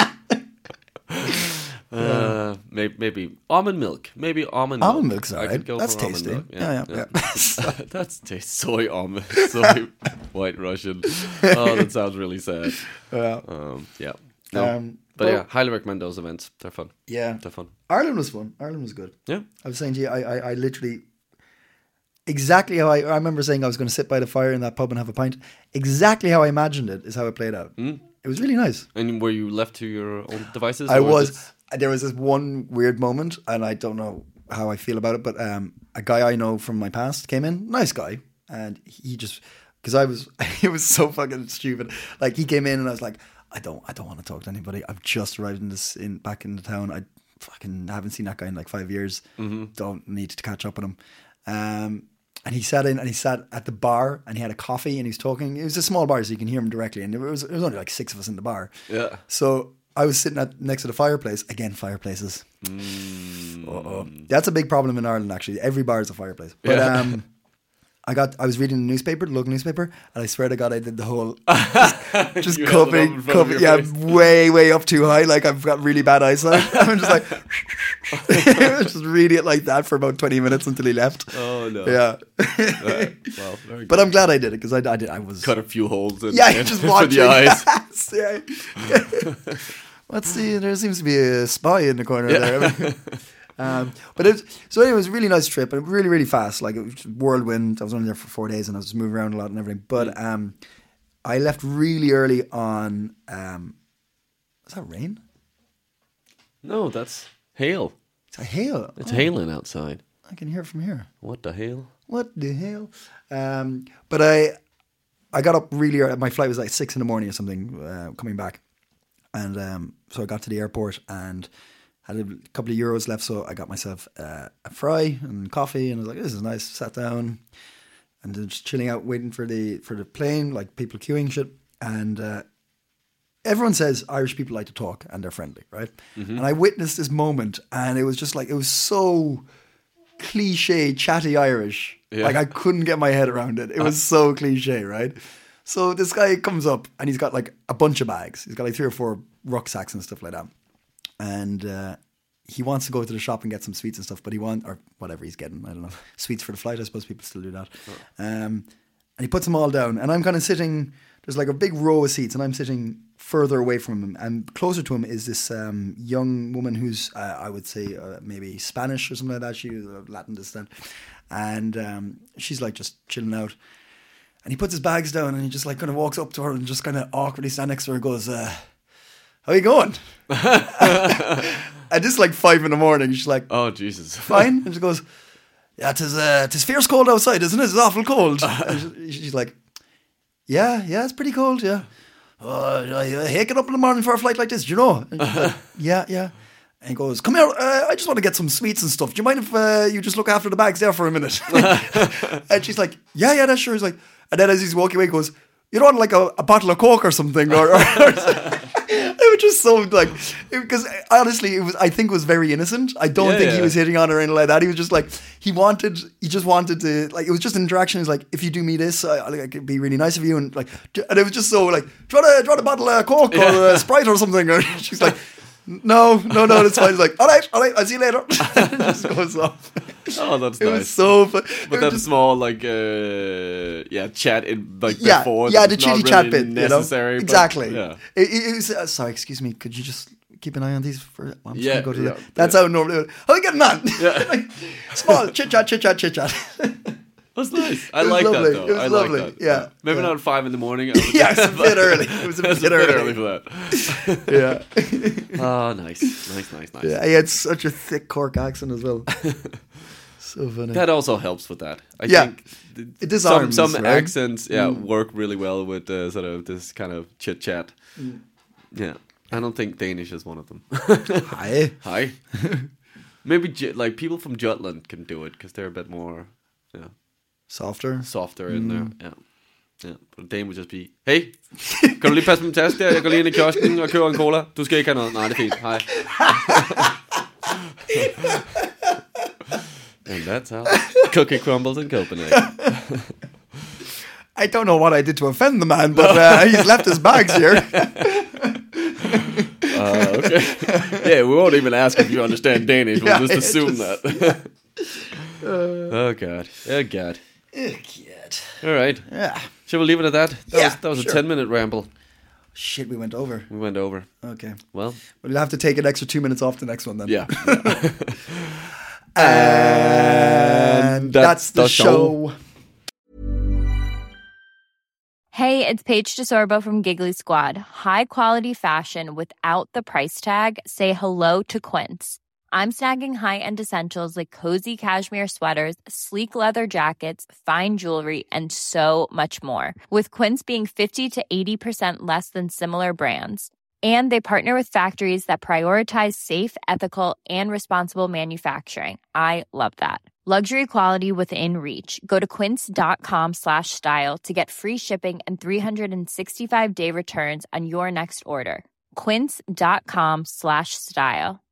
uh, maybe, maybe almond milk. Maybe almond milk. Almond milk's I alright. could go That's for almond tasty. milk. Yeah, yeah, yeah. That's tasty. Soy almond. Soy white Russian. Oh, that sounds really sad. Yeah. Um, yeah. No. Um, but well- yeah, highly recommend those events. They're fun. Yeah. They're fun. Ireland was fun. Ireland was good. Yeah. I was saying to you, I, I, I literally, exactly how I, I remember saying I was going to sit by the fire in that pub and have a pint. Exactly how I imagined it is how it played out. Mm. It was really nice. And were you left to your own devices? I or was. it- There was this one weird moment, and I don't know how I feel about it, but um, a guy I know from my past came in, nice guy, and he just, because I was, it was so fucking stupid. Like he came in, and I was like, I don't, I don't want to talk to anybody. I've just arrived in this, in back in the town. I fucking haven't seen that guy in like five years. Mm-hmm. Don't need to catch up with him. Um, and he sat in, and he sat at the bar, and he had a coffee, and he was talking. It was a small bar, so you can hear him directly, and there was, there was only like six of us in the bar. Yeah. So I was sitting at next to the fireplace. Again, fireplaces. Mm. Uh-oh. That's a big problem in Ireland, actually. Every bar is a fireplace. But Yeah. um, I got. I was reading the newspaper, the local newspaper, and I swear to God, I did the whole just You held it up cupping, in front of cupping, your yeah, face. way, way up too high. Like I've got really bad eyesight. I'm just like, just reading it like that for about twenty minutes until he left. Oh no. Yeah. Right. Well, very But good. I'm glad I did it because I, I did. I was Cut a few holes in, yeah, in just for watching. the eyes. Yes, yeah. Let's see. There seems to be a spy in the corner Yeah. there. Um, but it was, so anyway, it was a really nice trip, and really, really fast. Like it was whirlwind. I was only there for four days, and I was just moving around a lot and everything. But um, I left really early on. Um, is that rain? No, that's hail. It's a hail. It's Oh, hailing outside. I can hear it from here. What the hail? What the hell? Um, but I, I got up really early. My flight was like six in the morning or something, uh, coming back, and um, so I got to the airport and had a couple of euros left, so I got myself uh, a fry and coffee, and I was like, "This is nice." Sat down, and then just chilling out, waiting for the for the plane, like people queuing shit. And uh, everyone says Irish people like to talk and they're friendly, right? Mhm. And I witnessed this moment, and it was just like it was so cliche, chatty Irish. Yeah. Like I couldn't get my head around it. It was so cliche, right? So this guy comes up, and he's got like a bunch of bags. He's got like three or four rucksacks and stuff like that. And uh, he wants to go to the shop and get some sweets and stuff, but he wants, or whatever he's getting, I don't know, sweets for the flight. I suppose people still do that. Um, and he puts them all down, and I'm kind of sitting, there's like a big row of seats, and I'm sitting further away from him, and closer to him is this um, young woman who's, uh, I would say, uh, maybe Spanish or something like that. She was of Latin descent. And um, she's like just chilling out. And he puts his bags down, and he just like kind of walks up to her and just kind of awkwardly stands next to her and goes, uh, how you going? And this is like five in the morning. She's like, oh, Jesus. Fine. And she goes, yeah, tis, uh, tis fierce cold outside, isn't it? It's awful cold. And she, she's like, yeah, yeah, it's pretty cold, yeah. Oh, I hate getting up in the morning for a flight like this, do you know? And she's like, yeah, yeah. And he goes, come here, uh, I just want to get some sweets and stuff. Do you mind if uh, you just look after the bags there for a minute? And she's like, yeah, yeah, that's sure. He's like, and then as he's walking away, he goes, you don't want like a, a bottle of Coke or something? Or, or, or it was just so like, because honestly, it was, I think it was very innocent. I don't Yeah, think yeah. he was hitting on her or anything like that. He was just like, he wanted, he just wanted to, like, it was just an interaction. He's like, if you do me this, I, I, like, it'd be really nice of you. And like, and it was just so like, do you want a, do you want a bottle of Coke or Yeah. a Sprite or something? Or she's like, no, no, no, that's fine. He's like, all right, all right, I'll see you later. And it just goes off. Oh, that's It nice. was so fun. But It that was just- small, like, uh, yeah, chat in, like, yeah, before. yeah, the that's not chitty chat really bit, necessary. you know? but, Exactly. yeah. It, it, it was, uh, sorry, excuse me. Could you just keep an eye on these for? I'm just Yeah, gonna go to yeah, the, That's yeah. how normally. How you getting on? Yeah. Like, small chit chat, chit chat, chit chat. That's nice. I It was like lovely. that, though. It was I lovely. like that. Yeah, Maybe yeah. not at five in the morning. I would- Yeah, it's a bit early. It was a It's bit early. for that. Yeah. Oh, nice. Nice, nice, nice. Yeah, he had such a thick Cork accent as well. So funny. That also helps with that. I Yeah. think th- It disarms, some, some right? accents, yeah, Mm. work really well with uh, sort of this kind of chit chat. Mm. Yeah, I don't think Danish is one of them. Hi. Hi. Maybe J- like people from Jutland can do it because they're a bit more, yeah, Softer. softer in Mm. there. Yeah. Ja, og Dane would just be, hey, kan du lige passe på min taske der? Jeg går lige ind i kiosken og køber en cola. Du skal ikke have noget. Nej, det er fint. Hej. And that's how cookie crumbles in Copenhagen. I don't know what I did to offend the man, but uh, he's left his bags here. uh, okay. Yeah, we won't even ask if you understand Danish. We'll yeah, just assume just, that. uh, oh god. Oh god. Oh god. All right. Yeah. Shall we leave it at that? That yeah, was that was sure. a ten minute ramble. Shit, we went over. We went over. Okay. Well, we'll have to take an extra two minutes off the next one then. Yeah. and that's, that's the, the show. show. Hey, it's Paige DeSorbo from Giggly Squad. High quality fashion without the price tag. Say hello to Quince. I'm snagging high-end essentials like cozy cashmere sweaters, sleek leather jackets, fine jewelry, and so much more. With Quince being fifty to eighty percent less than similar brands. And they partner with factories that prioritize safe, ethical, and responsible manufacturing. I love that. Luxury quality within reach. Go to quince.com slash style to get free shipping and three sixty-five day returns on your next order. Quince.com slash style.